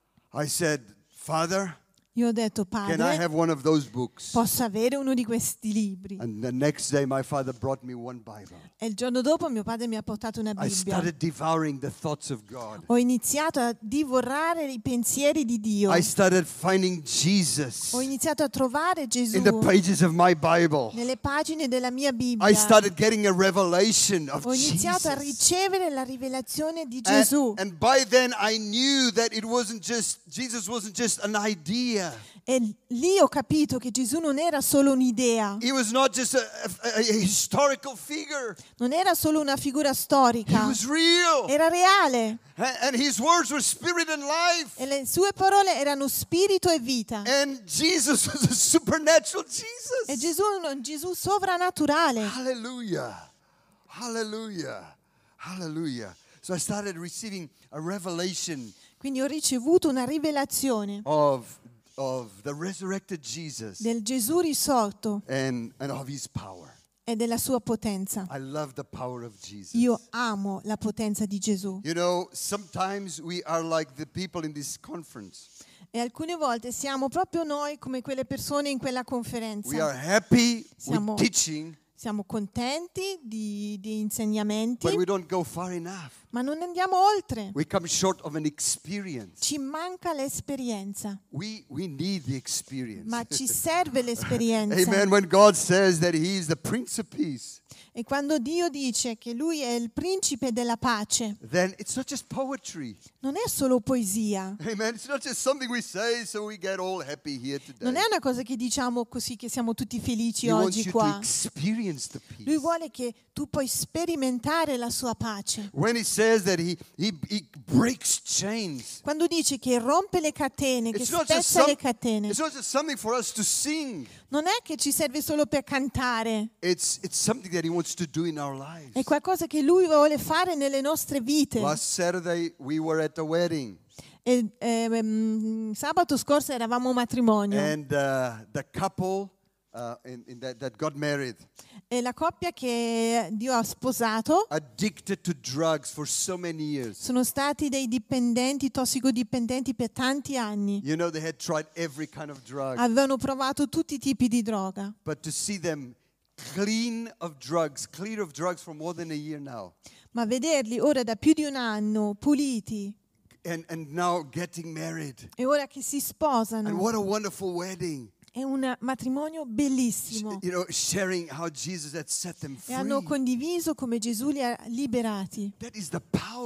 I said, "Father, Io ho detto: can I padre, have one of those books?" posso avere uno di questi libri? And the next day, my father brought me one Bible. E il giorno dopo mio padre mi ha portato una I Bibbia. started devouring the thoughts of God. Ho iniziato a divorare i pensieri di Dio. I started finding Jesus Ho iniziato a trovare Gesù in the pages of my Bible. nelle pagine della mia Bibbia. I started getting a revelation of Ho iniziato a Jesus. ricevere la rivelazione di And, Gesù. and by then I knew that it wasn't just, Jesus wasn't just an idea. E lì ho capito che Gesù non era solo un'idea, He was not just a, a, a historical figure. non era solo una figura He storica, was real. era reale. And, and his words were spirit and life. E le sue parole erano spirito e vita. And Jesus was a supernatural Jesus. E Gesù è un Gesù sovrannaturale. Hallelujah. Hallelujah. Hallelujah. So I started receiving a revelation Quindi ho ricevuto una rivelazione of, of the resurrected Jesus del Gesù risorto and, and of his power. e della sua potenza. I love the power of Jesus. Io amo la potenza di Gesù. You know, sometimes we are like the people in this conference. E alcune volte siamo proprio noi come quelle persone in quella We are conferenza. happy Siamo- with teaching, Siamo contenti di, di insegnamenti, but we don't go far enough. ma non andiamo oltre. We come short of an experience. Ci manca l'esperienza, We, we need the experience. ma ci serve l'esperienza. Amen. When God says that he is the Prince of Peace, E quando Dio dice che Lui è il principe della pace, then it's not just poetry. non è solo poesia, Amen. It's not just something we say so we get all happy here non today. è una cosa che diciamo così che siamo tutti felici He wants oggi you to qua. experience the Lui peace. vuole che tu puoi sperimentare la sua pace. When he says that he, he, he breaks chains, Quando dice che rompe le catene, che it's not, just spezza some, le catene, it's not just something for us to sing. non è che ci serve solo per cantare, It's, it's something that he wants to do in our è lives. qualcosa che Lui vuole fare nelle nostre vite. Last Saturday, we were at a wedding. E, ehm, sabato scorso eravamo a un matrimonio And uh, the couple uh, in, in that, that got married, e la coppia che Dio ha sposato addicted to drugs for so many years. sono stati dei dipendenti, tossicodipendenti per tanti anni. You know, they had tried every kind of drug. Avevano provato tutti i tipi di droga, But to see them clean of drugs, clear of drugs for more than a year now, ma vederli ora da più di un anno puliti and, and now getting married. e ora che si And sposano, what a wonderful wedding. è un matrimonio bellissimo. You know, sharing how Jesus had set them E hanno free. condiviso come Gesù li ha liberati. That is the power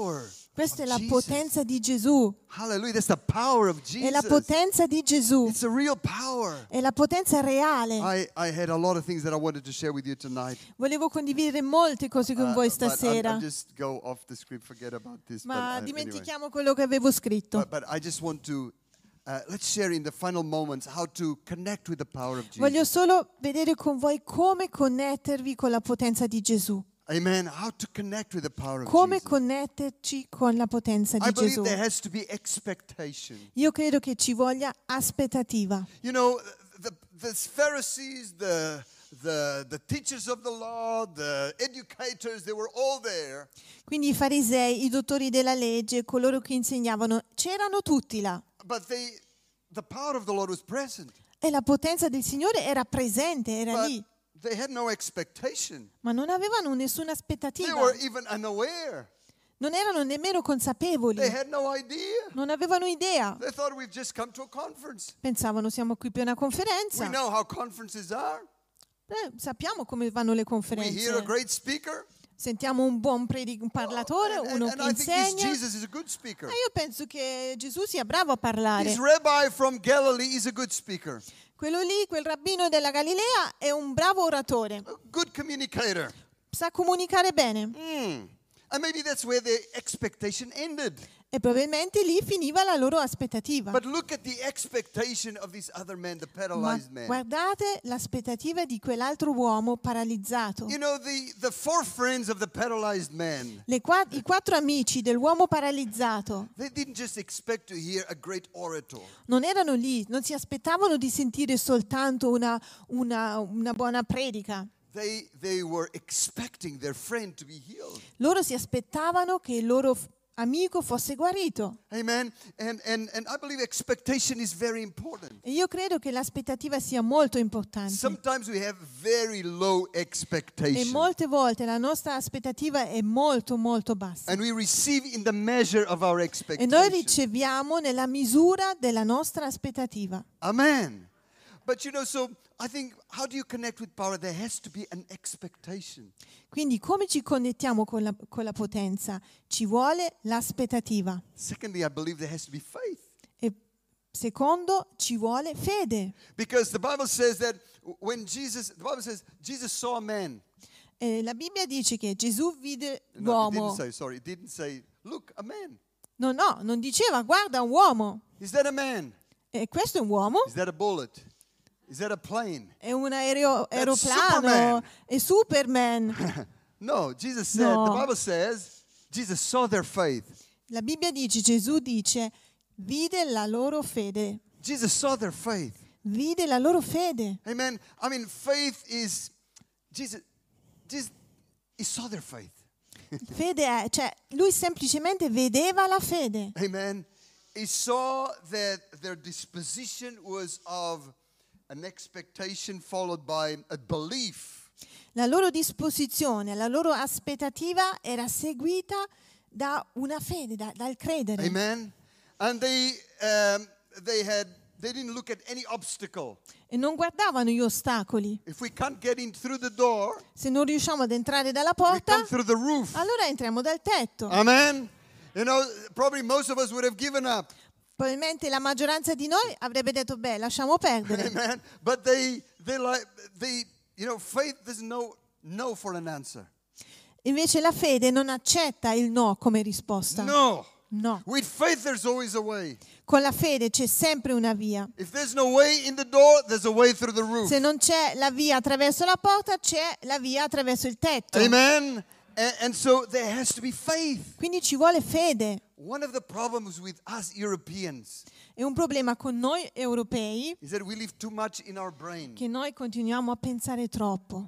Questa è la Jesus. potenza di Gesù. Hallelujah. That's the power of È la Jesus. potenza di Gesù. It's a real power. È la potenza reale. I, I had a lot of things that I wanted to share with you tonight. Volevo condividere molte cose con Uh, voi but I'm- stasera, I'm just go off the script, forget about this. but, ma uh, anyway. dimentichiamo quello che avevo scritto. But, but I just want to, uh, let's share in the final moments how to connect with the power of Jesus. Voglio solo vedere con voi come connettervi con la potenza di Gesù. Amen. How to connect with the power of Come Jesus. connetterci con la potenza I di believe Gesù. there has to be expectation. Io credo che ci voglia aspettativa. You know, the, the Pharisees, the, the, the teachers of the law, the educators, they were all there. Quindi i farisei, i dottori della legge, coloro che insegnavano, c'erano tutti là. But they, the power of the Lord was present. E la potenza del Signore era presente, era But lì. they had no expectation. Ma non avevano nessuna They aspettativa. were even unaware. Non erano nemmeno consapevoli. They had no idea. Non avevano idea. They thought we've just come to a conference. Pensavano siamo qui per una We conferenza. know how conferences are. Eh, sappiamo come vanno le We hear a conferenze. great speaker. Sentiamo un buon predic- un parlatore, And, and, uno and che I think this insegna. Jesus is a good speaker. E io penso che Gesù sia bravo a parlare. This rabbi from Galilee is a good speaker, Quello lì, quel rabbino della Galilea, è un bravo oratore. a good communicator. Sa comunicare bene. Mm. And maybe that's where the expectation ended. E probabilmente lì finiva la loro aspettativa. But look at the expectation of this other man, the Ma paralyzed man. guardate l'aspettativa di quell'altro uomo paralizzato. You know, the, the four friends of the paralyzed man, Le qua- I quattro amici dell'uomo paralizzato they didn't just expect to hear a great orator. non erano lì, non si aspettavano di sentire soltanto una, una- una buona predica. They, they were expecting their friend to be healed. Loro si aspettavano che il loro f- amico fosse guarito. Amen. And, and, and I believe expectation is very important. E io credo che l'aspettativa sia molto importante. Sometimes we have very low E expectation. molte volte la nostra aspettativa è molto molto bassa. And we receive in the measure of our E noi expectation. riceviamo nella misura della nostra aspettativa. Amen. But you know, so I think, how do you connect with power? There has to be an expectation. Quindi come ci connettiamo con la, con la potenza? Ci vuole l'aspettativa. Secondly, I believe there has to be faith. E secondo, ci vuole fede. Because the Bible says that when Jesus, the Bible says, Jesus saw a man. E la Bibbia dice che Gesù vide No, it l'uomo. didn't say, sorry, it didn't say, look, a man. No, no, non diceva guarda un uomo. Is that a man? E questo è un uomo. Is that a bullet? Is that a plane? È un aereo, That's aeroplano. Superman. È Superman. No, Jesus said, No. the Bible says, Jesus saw their faith. La Bibbia dice, Gesù dice, vide la loro fede. Jesus saw their faith. Vide la loro fede. Amen. I mean, faith is, Jesus, Jesus, he saw their faith. Fede è, cioè, lui semplicemente vedeva la fede. Amen. He saw that their disposition was of an expectation followed by a belief. La loro disposizione, la loro aspettativa era seguita da una fede, da- dal credere. Amen. And they, um, they had, they didn't look at any obstacle. E non guardavano gli ostacoli. If we can't get in through the door, Se non riusciamo ad entrare dalla we porta, come through the roof. allora entriamo dal tetto. Amen. You know, probably most of us would have given up. Probabilmente la maggioranza di noi avrebbe detto, beh, lasciamo perdere. Amen. But they, they like, they, you know, faith doesn't know no for an answer. Invece la fede non accetta il no come risposta. No. No. With faith, there's always a way. Con la fede c'è sempre una via. If there's no way in the door, there's a way through the roof. Se non c'è la via attraverso la porta, c'è la via attraverso il tetto. Amen. And, and so there has to be faith. Quindi ci vuole fede. One of the problems with us Europeans E un problema con noi europei is that we live too much in our brain. che noi continuiamo a pensare troppo.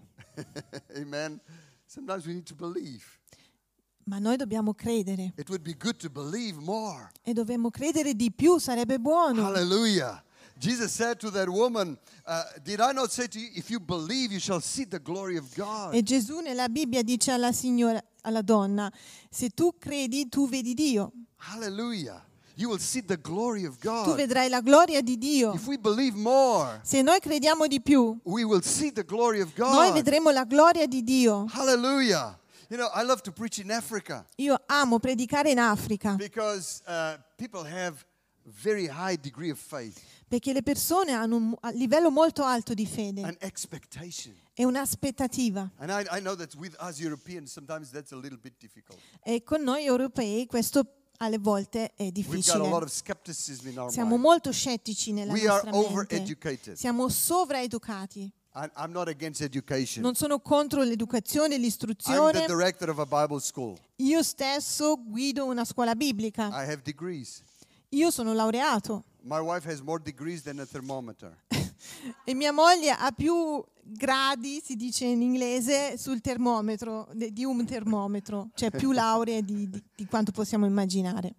Amen. Sometimes we need to believe. Ma noi dobbiamo credere. It would be good to believe more. E dobbiamo credere di più, sarebbe buono. Hallelujah. Jesus said to that woman, uh, did I not say to you, if you believe, you shall see the glory of God. E Gesù nella Bibbia dice alla signora, alla donna, se tu credi, tu vedi Dio. Hallelujah. You will see the glory of Tu God. vedrai la gloria di Dio. If we believe more, Se noi crediamo di più, we will see the glory of noi God. vedremo la gloria di Dio. Hallelujah. You know, I love to preach in Africa Io amo predicare in Africa because uh, people have very high degree of faith perché le persone hanno un a- livello molto alto di fede and expectation. e un'aspettativa. And I, I know that with us Europeans, sometimes that's a little bit difficult. E con noi europei questo alle volte è We've got a lot difficile. of skepticism in our Siamo mind. molto scettici nella We are nostra mente. overeducated. Siamo sovraeducati. I, I'm not against education. Non sono contro l'educazione e I'm the l'istruzione. director of a Bible school. Io stesso guido una scuola biblica. I have degrees. Io sono laureato My wife has more degrees than a thermometer. e mia moglie ha più gradi, si dice in inglese, sul termometro, de- di un termometro, cioè più lauree di, di- di quanto possiamo immaginare.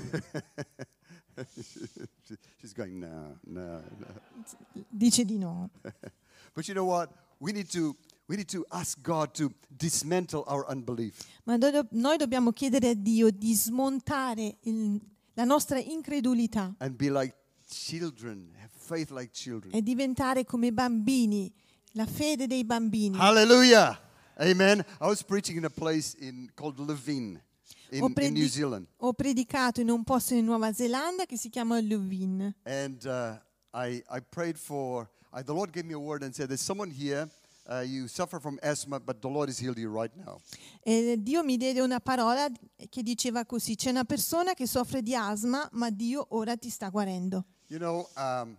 She's going, no, no, no. Dice di no. But you know what? We need to we need to ask God to dismantle our unbelief. Ma do- noi dobbiamo chiedere a Dio di smontare il- la nostra incredulità And be like children, have faith like children. e diventare come bambini, la fede dei bambini. Hallelujah. Amen. I was preaching in a place in called Levin in, Ho, in predi- New Zealand. ho predicato in un posto in Nuova Zelanda che si chiama Leuven. And uh, I, I prayed for, I, the Lord gave me a word and said, there's someone here, uh, you suffer from asthma, but the Lord has healed you right now. E Dio mi diede una parola che diceva così: c'è una persona che soffre di asma, ma Dio ora ti sta guarendo. You know, um,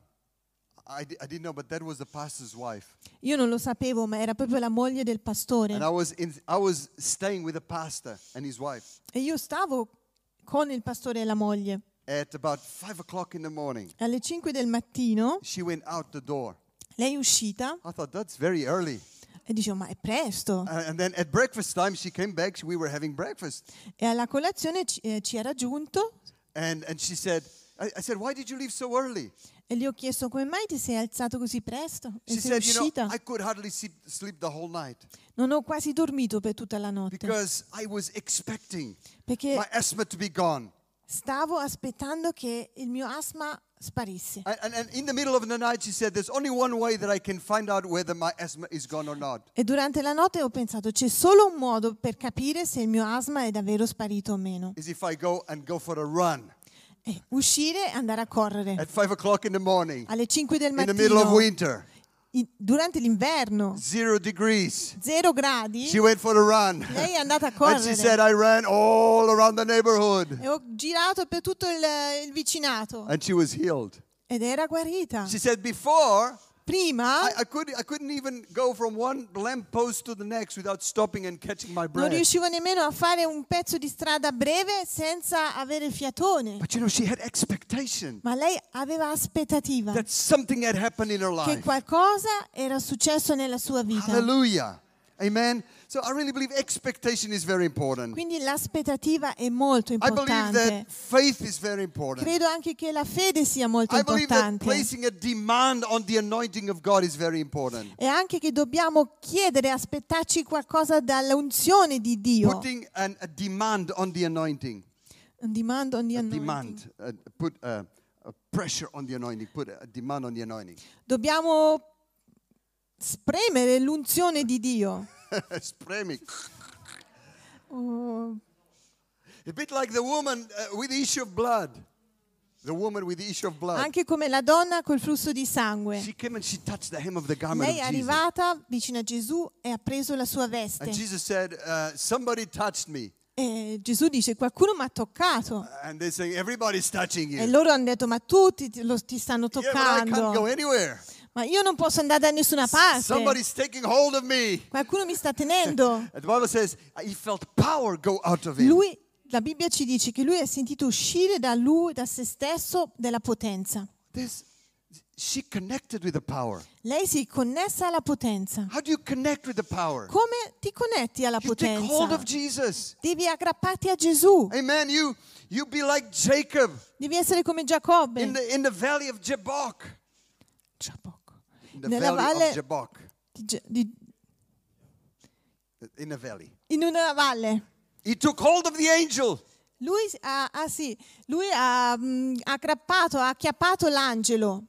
I, di- I didn't know, but that was the pastor's wife. Io non lo sapevo, ma era proprio la moglie del pastore. And I was, in, I was staying with the pastor and his wife E io stavo con il pastore e la moglie. at about five o'clock in the morning. Alle cinque del mattino She went out the door. lei è uscita I thought, that's very early. e dicevo: ma è presto. Uh, and then at breakfast time, she came back. We were having breakfast. E alla colazione ci, eh, ci ha raggiunto And, and she said, I, I said, why did you leave so early? e gli ho chiesto: come mai ti sei alzato così presto? E She sei said, you know, uscita? I could hardly sleep, sleep the whole night Non ho quasi dormito per tutta la notte because I was expecting perché my asthma to be gone. stavo aspettando che il mio asma sparisse. And, and, and in the middle of the night, she said, there's only one way that I can find out whether my asthma is gone or not. E durante la notte ho pensato: c'è solo un modo per capire se il mio asma è davvero sparito o meno. Is if I go and go for a run E uscire e andare a correre at five o'clock in the morning alle cinque del in the middle of mattino winter, in- durante l'inverno, zero degrees. zero gradi. She went for a run. Lei è andata a And she said, correre I ran all around the neighborhood. e ho girato per tutto il, il vicinato And she was healed. ed era guarita. She said, before, Prima I, I, couldn't, I couldn't even go from one lamppost to the next without stopping and catching my non breath. riuscivo nemmeno a fare un pezzo di strada breve senza avere il fiatone. But you know, she had expectation Ma lei aveva aspettativa that something had happened in her che life. qualcosa era successo nella sua vita. Hallelujah. Amen. So I really believe expectation is very important. Quindi l'aspettativa è molto I believe importante. that faith is very important. Credo anche che la fede sia molto I believe that importante. placing a demand on the anointing of God is very important. E anche che dobbiamo chiedere, aspettarci qualcosa dall'unzione di Dio. Putting an, a demand on the anointing. Un demand on the A anointing. demand. Uh, put a, a pressure on the anointing. Put a demand on the anointing. Dobbiamo spremere l'unzione di Dio. Spremi. Oh, A bit like the woman uh, with the issue of blood. The woman with the issue of blood. anche come la donna col flusso di sangue. She came and she touched the hem of the garment Lei è of Jesus. arrivata vicino a Gesù e ha preso la sua veste. And Jesus said, uh, somebody touched me. E Gesù dice: qualcuno mi ha toccato. And they're saying, everybody's touching E you. loro hanno detto: ma tutti ti, lo, ti stanno Yeah, but I can't go toccando. anywhere. Ma io non posso andare da nessuna parte. Somebody's taking hold of me. Qualcuno mi sta tenendo. And the Bible says he felt power go out of him. Lui, la Bibbia ci dice che lui ha sentito uscire da lui, da se stesso, della potenza. This, she connected with the power. Lei si è connessa alla potenza. How do you connect with the power? Come ti connetti alla You take hold of potenza? Jesus. Devi aggrapparti a Gesù. Amen. You you be like Jacob Devi essere come Giacobbe. in the in the valley of Jabbok. In the Nella valley valle of Jabbok. di Ge- di- In the valley. in una valle. He took hold of the angel. Lui ha, ah, sì, lui ha mm, aggrappato, ha acchiappato l'angelo.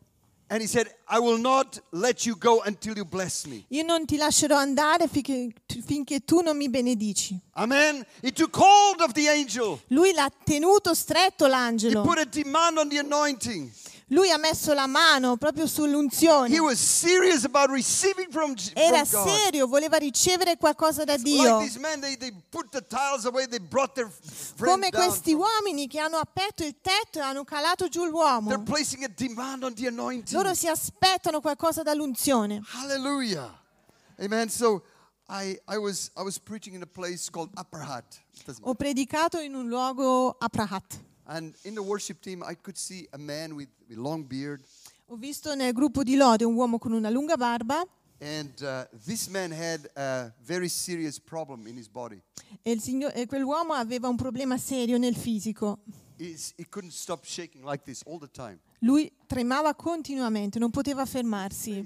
And he said, I will not let you go until you bless me. Io non ti lascerò andare finché, finché tu non mi benedici. Amen. He took hold of the angel. Lui l'ha tenuto stretto He l'angelo. put a demand on the anointing. Lui ha messo la mano proprio sull'unzione. He was serious about receiving from, Era from God. serio, voleva ricevere qualcosa da Like Dio. these men, they, they put the tiles away, they brought their friend Come down. questi uomini che hanno aperto il tetto e hanno calato giù l'uomo. They're placing a demand on the anointing. Loro si aspettano qualcosa dall'unzione. Hallelujah. Amen. So I, I, was, I was preaching in a place called Upper Hut. Doesn't Ho predicato in un luogo a Prahat. And in the worship team, I could see a man with a long beard. Ho visto nel gruppo di lode un uomo con una lunga barba And uh, this man had a very serious problem in his body. e, il signor- e quell'uomo aveva un problema serio nel fisico. He's, he couldn't stop shaking like this all the time. Lui tremava continuamente, non poteva fermarsi.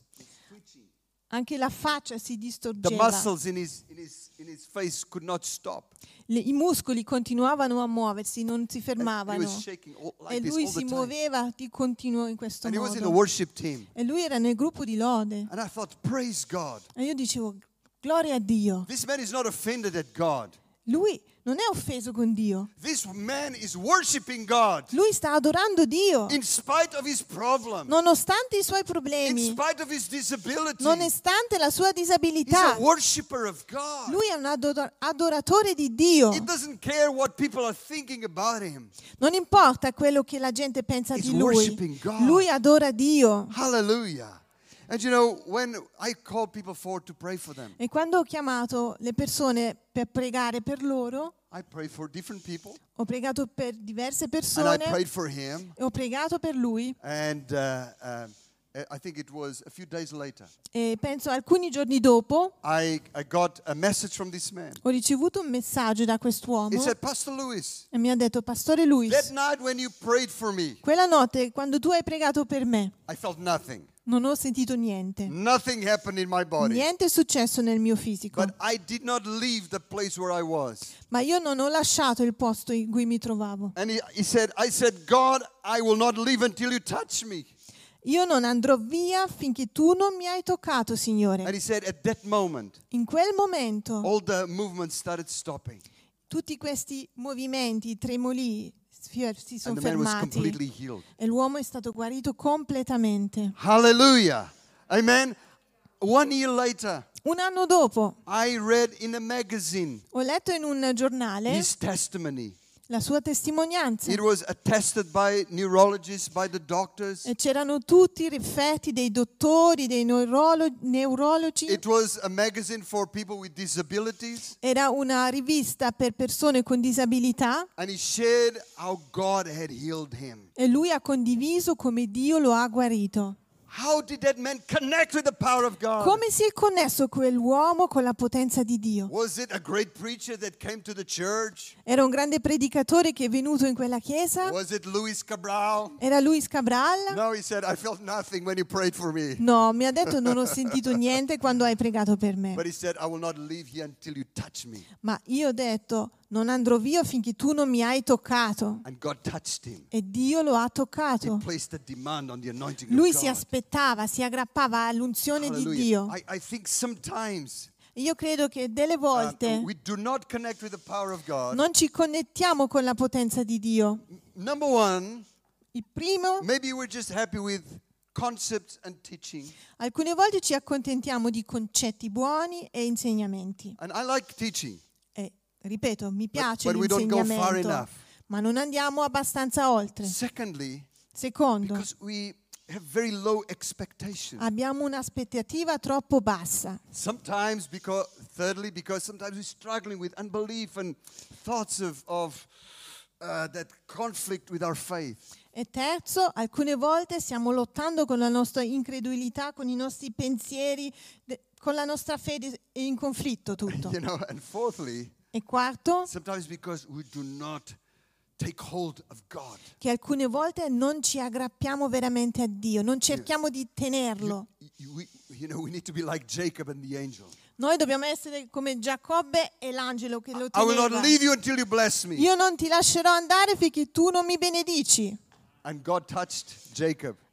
Anche la faccia si The distorgeva. muscles in his, in his, in his face could not stop. Le- I muscoli continuavano a muoversi, non si And he fermavano. was shaking all, E like this lui all the si time. muoveva di continuo in questo And he was in the modo. worship team. E lui era nel gruppo di lode. And I thought, praise God. E io dicevo, gloria a Dio. This man is not offended at God. Lui non è offeso con Dio. This man is worshiping God Lui sta adorando Dio. in spite of his problem, Nonostante i suoi in problemi, spite of his disability. nonostante la sua He's disabilità, a worshiper of God. lui è un ador- adoratore di Dio. He doesn't care what people are thinking about him. Non importa quello che la gente pensa He's di lui. worshiping God. Lui adora Dio. Hallelujah. And you know, when I call people forward to pray for them, E quando ho chiamato le persone per pregare per loro, I pray for different people, ho pregato per diverse and I persone prayed for him. e ho pregato per lui. And uh, um, I think it was a few days later, E penso alcuni giorni dopo I, I got a message from this man. ho ricevuto un messaggio da He quest'uomo said, Pastor Lewis, e mi ha detto, Pastore that Luis, night when you prayed for me, quella notte quando tu hai pregato per me, I felt nothing. non ho sentito niente. Nothing happened in my body. Niente è successo nel mio fisico. But I did not leave the place where I was. Ma io non ho lasciato il posto in cui mi trovavo. And he, he said, I said, God, I will not leave until you touch me. Io non andrò via finché tu non mi hai toccato, And Signore. he said, at that moment, In quel momento, all the movements started stopping. tutti questi movimenti, tremoli, si si sono And the man was fermati. completely healed. E l'uomo è stato guarito completamente. Hallelujah. Amen. One year later, Un anno dopo, I read in a magazine ho letto in un giornale his testimony. la sua testimonianza. It was attested by neurologists, by the doctors. E c'erano tutti i rifletti dei dottori, dei neurolo- neurologi. It was a magazine for people with disabilities. Era una rivista per persone con disabilità And he shared how God had healed him. e lui ha condiviso come Dio lo ha guarito. How did that man connect with the power of God? Come si è connesso quell'uomo con la potenza di Dio? Was it a great preacher that came to the church? Era un grande predicatore che è venuto in quella chiesa? Was it Luis Cabral? Era Luis Cabral? No, he said, I felt nothing when you prayed for me. No, mi ha detto non ho sentito niente quando hai pregato per me. But he said, I will not leave here until you touch me. Ma io ho detto non andrò via finché tu non mi hai toccato. And God touched him. E Dio lo ha He toccato. placed a demand on the anointing Lui of si God. aspettava, si aggrappava all'unzione di Hallelujah. Dio. I, I think sometimes Io credo che delle uh, volte we do not connect with the power of God. non ci connettiamo con la potenza di Dio. Number one, Il primo, maybe we're just happy with concepts and teaching. alcune volte ci accontentiamo di concetti buoni e insegnamenti. And I like teaching. E ripeto, mi piace but we don't go far l'insegnamento, enough. ma non andiamo abbastanza oltre. Secondly, Secondo, because we have very low expectations. abbiamo un'aspettativa troppo bassa. Sometimes because, thirdly, because sometimes we're struggling with unbelief and thoughts of, of uh, that conflict with our faith. E terzo, alcune volte stiamo lottando con la nostra incredulità, con i nostri pensieri, de- con la nostra fede è in conflitto tutto. You know, and fourthly, E quarto, sometimes because we do not take hold of God. che alcune volte non ci aggrappiamo veramente a Dio, non cerchiamo di tenerlo. You, we, you know, we need to be like Jacob and the angel. Noi dobbiamo essere come Giacobbe e l'angelo che lo I will not teneva. leave you until you bless me. Io non ti lascerò andare finché tu non mi benedici. And God touched Jacob.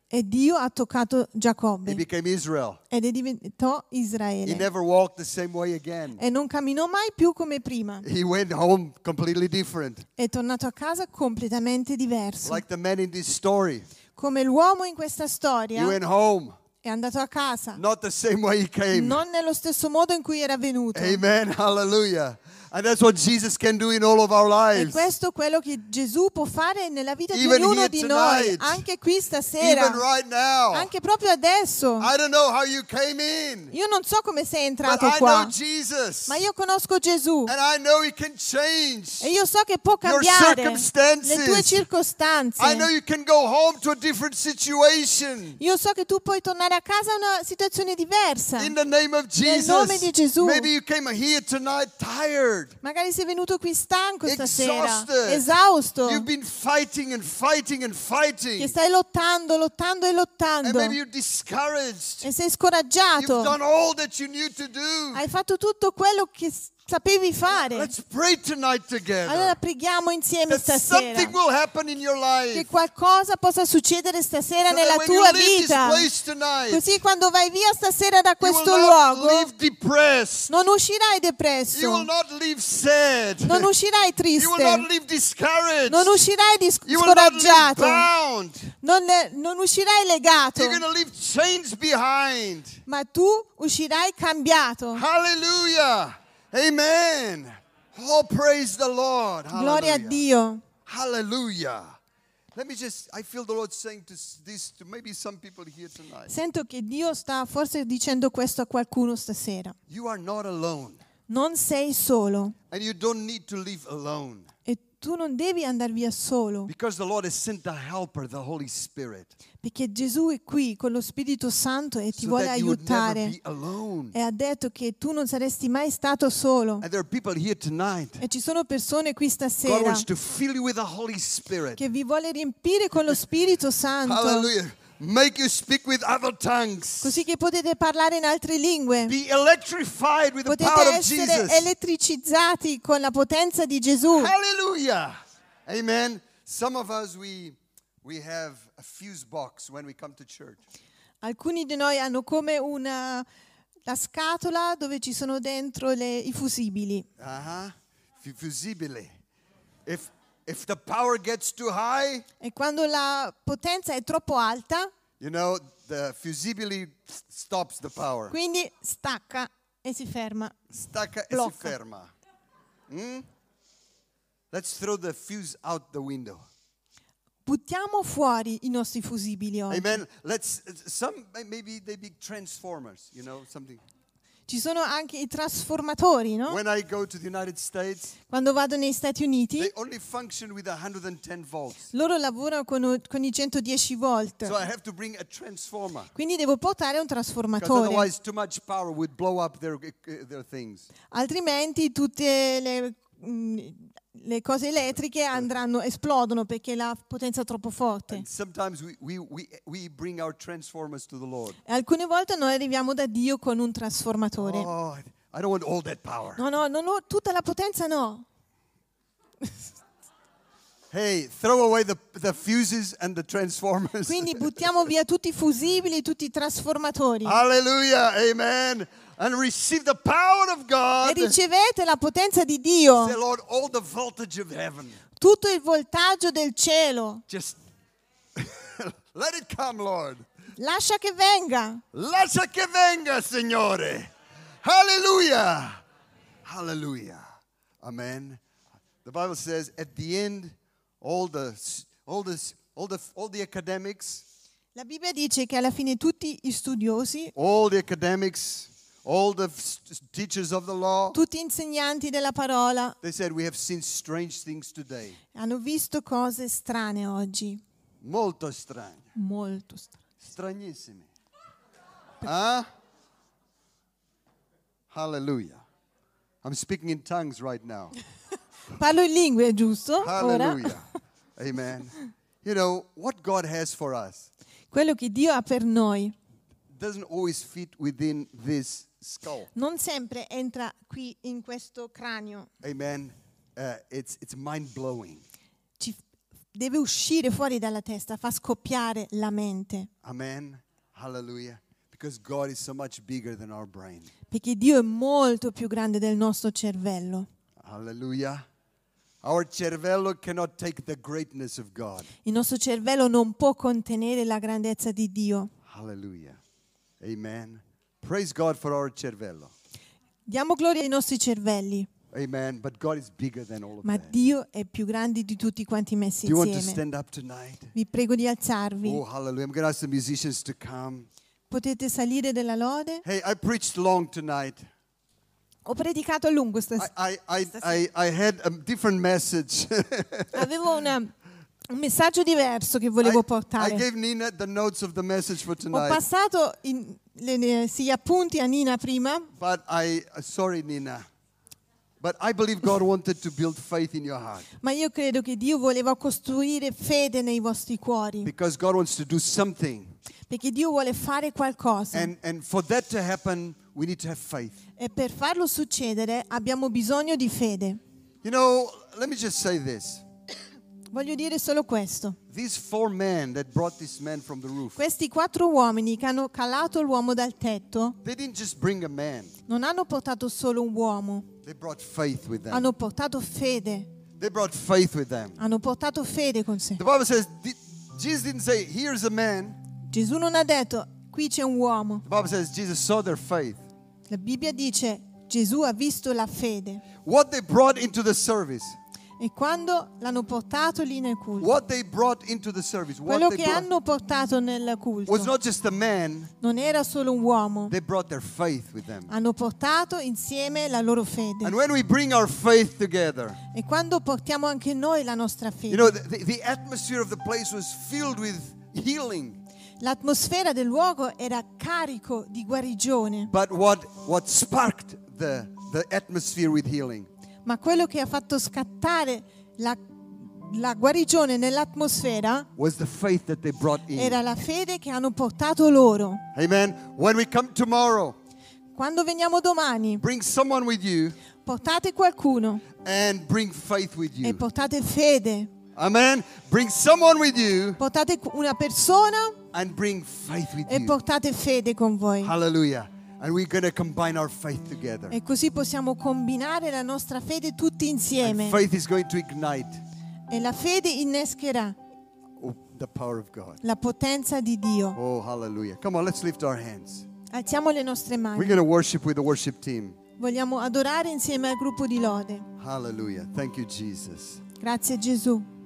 E Dio ha toccato He Giacobbe became Israel. ed è diventato He Israele. never walked the same way again. E non camminò mai più come prima. He went home completely different. È tornato a casa completamente diverso. Like the man in this story. Come l'uomo in questa He storia went home, è andato a casa, not the same way he came. non nello stesso modo in cui era venuto. Amen. Hallelujah. And that's what Jesus can do in all of our E lives. questo è quello che Gesù può fare nella vita di Even ognuno here di noi, tonight. anche qui stasera, Even right now. anche proprio adesso. I don't know how you came in, Io non so come sei but entrato I know qua, Jesus. ma io conosco Gesù And I know he can change e io so che può your cambiare le tue circumstances. circostanze. I know you can go home to a different situation. Io so che tu puoi tornare a casa a una situazione diversa. In the name of Nel nome di Jesus. Gesù. Maybe you came here tonight tired. Magari sei venuto qui stanco stasera, Exhausted. esausto, You've been fighting and fighting and fighting. che stai lottando, lottando e And lottando maybe you're discouraged. e sei You've scoraggiato. done all that you knew to do. Hai fatto tutto quello che s- sapevi fare. Let's pray tonight together. Allora preghiamo insieme That stasera something will happen in your life. che qualcosa possa succedere stasera So nella that when you tua leave this vita. place tonight, Così quando vai via stasera da you will questo not luogo leave depressed. non uscirai You will depresso, not leave sad. non uscirai You will not triste, leave discouraged. non uscirai dis- You will not leave scoraggiato, bound. non, non uscirai legato, You're going to leave chains behind. ma tu uscirai cambiato. Hallelujah. Amen. Oh, praise the Lord. Gloria a Hallelujah. Dio. Hallelujah. Let me just, I feel the Lord saying to s- this to maybe some people here tonight. Sento che Dio sta forse dicendo questo a qualcuno stasera. You are not alone. Non sei solo And you don't need to live alone. e tu non devi andare via solo, Because the Lord has sent the helper, the Holy Spirit. perché Gesù è qui con lo Spirito Santo e ti So vuole that you would never aiutare. be alone. E ha detto che tu non saresti mai stato solo. And there are people here tonight. E ci sono persone qui God stasera wants to fill you with the Holy Spirit. che vi vuole riempire con lo Spirito Santo, Hallelujah. Make you speak with other tongues. così che potete parlare in altre lingue. Be electrified with the Potete power of essere Jesus. elettricizzati con la potenza di Gesù. Hallelujah. Amen. Some of us, we, we have a fuse box when we come to church. Alcuni di noi hanno come una la scatola dove ci sono dentro le, i fusibili. Uh-huh. Fu- Fusibile. If, if the power gets too high, E quando la potenza è troppo alta, you know, the fusibile s- stops the power. quindi stacca e si ferma. Stacca e si Blocca. ferma. Mm? Let's throw the fuse out the window. Buttiamo fuori i nostri fusibili oggi. Amen. Let's, some, maybe they be transformers, you know, something. Ci sono anche i trasformatori, no? When I go to the United States, Quando vado negli Stati Uniti, they only function with one hundred ten volts. loro lavorano con, con i centodieci volt. So I have to bring a transformer. Quindi devo portare un Because trasformatore. otherwise too much power would blow up their, uh, their things. Altrimenti tutte le, mh, le cose elettriche andranno, esplodono perché la potenza è troppo forte. And sometimes we, we, we, we bring our transformers to the Lord. E alcune volte noi arriviamo da Dio con un trasformatore. Oh, I don't want all that power. No, no, non ho tutta la potenza, no. Hey, throw away the, the fuses and the transformers. Quindi buttiamo via tutti i fusibili, tutti i trasformatori. Hallelujah. Amen. And receive the power of E God. ricevete la potenza di Dio, Say, Lord, all the voltage of heaven. tutto il voltaggio del cielo. Just let it come, Lord. Lascia che venga. Lascia che venga, Signore. Hallelujah. Hallelujah. Amen. The Bible says at the end, all the all this all the all the academics, La Bibbia dice che alla fine tutti gli studiosi, all the academics, all the f- teachers of the law, tutti gli insegnanti della parola they said we have seen strange things today. hanno visto cose strane oggi. Molto strane. Molto strane. Stranissime. Huh? Hallelujah. I'm speaking in tongues right now. Parlo in lingue, giusto? Ora. Hallelujah. Amen. You know, what God has for us Quello che Dio ha per noi doesn't always fit within this skull. non sempre entra qui in questo cranio. Amen. Uh, it's it's mind blowing. Ci deve uscire fuori dalla testa, fa scoppiare la mente. Amen. Hallelujah. Because God is so much bigger than our brain. Perché Dio è molto più grande del nostro cervello. Hallelujah. Our cervello cannot take the greatness of God. Il nostro cervello non può contenere la grandezza di Dio. Hallelujah. Amen. Praise God for our cervello. Diamo gloria ai nostri cervelli, Amen. But God is bigger than all of ma that. Dio è più grande di tutti quanti messi Do you want to insieme. stand up tonight? Vi prego di alzarvi. Oh, hallelujah. I'm going to ask the musicians to come. Potete salire della lode. Hey, I preached long tonight. Ho predicato a lungo I, stasera. I, I, I, I had a different message. Avevo una- un messaggio diverso che volevo I, I portare. gave Nina the notes of the message for Ho tonight. passato in- le- le- sì, gli appunti a Nina prima, But I, uh, sorry, Nina. But I believe God wanted to build faith in your heart. ma io credo che Dio voleva costruire fede nei vostri cuori, Because God wants to do something. perché Dio vuole fare qualcosa. And, and for that to happen, we need to have faith. E per farlo succedere abbiamo bisogno di fede. You know, let me just say this. Voglio dire solo questo. These four men that brought this man from the roof, Questi quattro uomini che hanno calato l'uomo dal tetto they didn't just bring a man. non hanno portato solo un uomo, They brought faith with them. hanno portato fede, They brought faith with them. hanno portato fede con sé. The Bible says, di- Jesus didn't say, here's a man. Gesù non ha detto, qui c'è un uomo. The Bible says Jesus saw their faith. La Bibbia dice, Gesù ha visto la fede. What they brought into the service, E quando l'hanno portato lì nel culto, what they brought into the service, what quello they che brought hanno portato nel was culto not just a man, non era solo un uomo, they brought their faith with them. hanno portato insieme la loro fede. And when we bring our faith together, E quando portiamo anche noi la nostra you know, fede, the, the atmosphere of the place was filled with healing. l'atmosfera del luogo era carico di guarigione, But what, what sparked the, the atmosphere with healing ma quello che ha fatto scattare la, la guarigione nell'atmosfera was the faith that they brought in. era la fede che hanno portato loro. Amen. When we come tomorrow, Quando veniamo domani, bring someone with you portate qualcuno and bring faith with e you. portate fede. Amen. Bring someone with you Portate una persona and bring faith with e you. portate fede con voi. Hallelujah. And we're going to combine our faith together. E così possiamo combinare la nostra fede tutti And insieme. faith is going to ignite E la fede innescherà oh, the power of God. la potenza di Dio. Oh, hallelujah. Come on, let's lift our hands. Alziamo le nostre We're mani. going to worship with the worship team. Vogliamo adorare insieme al gruppo di lode. Hallelujah. Thank you, Jesus. Grazie Gesù.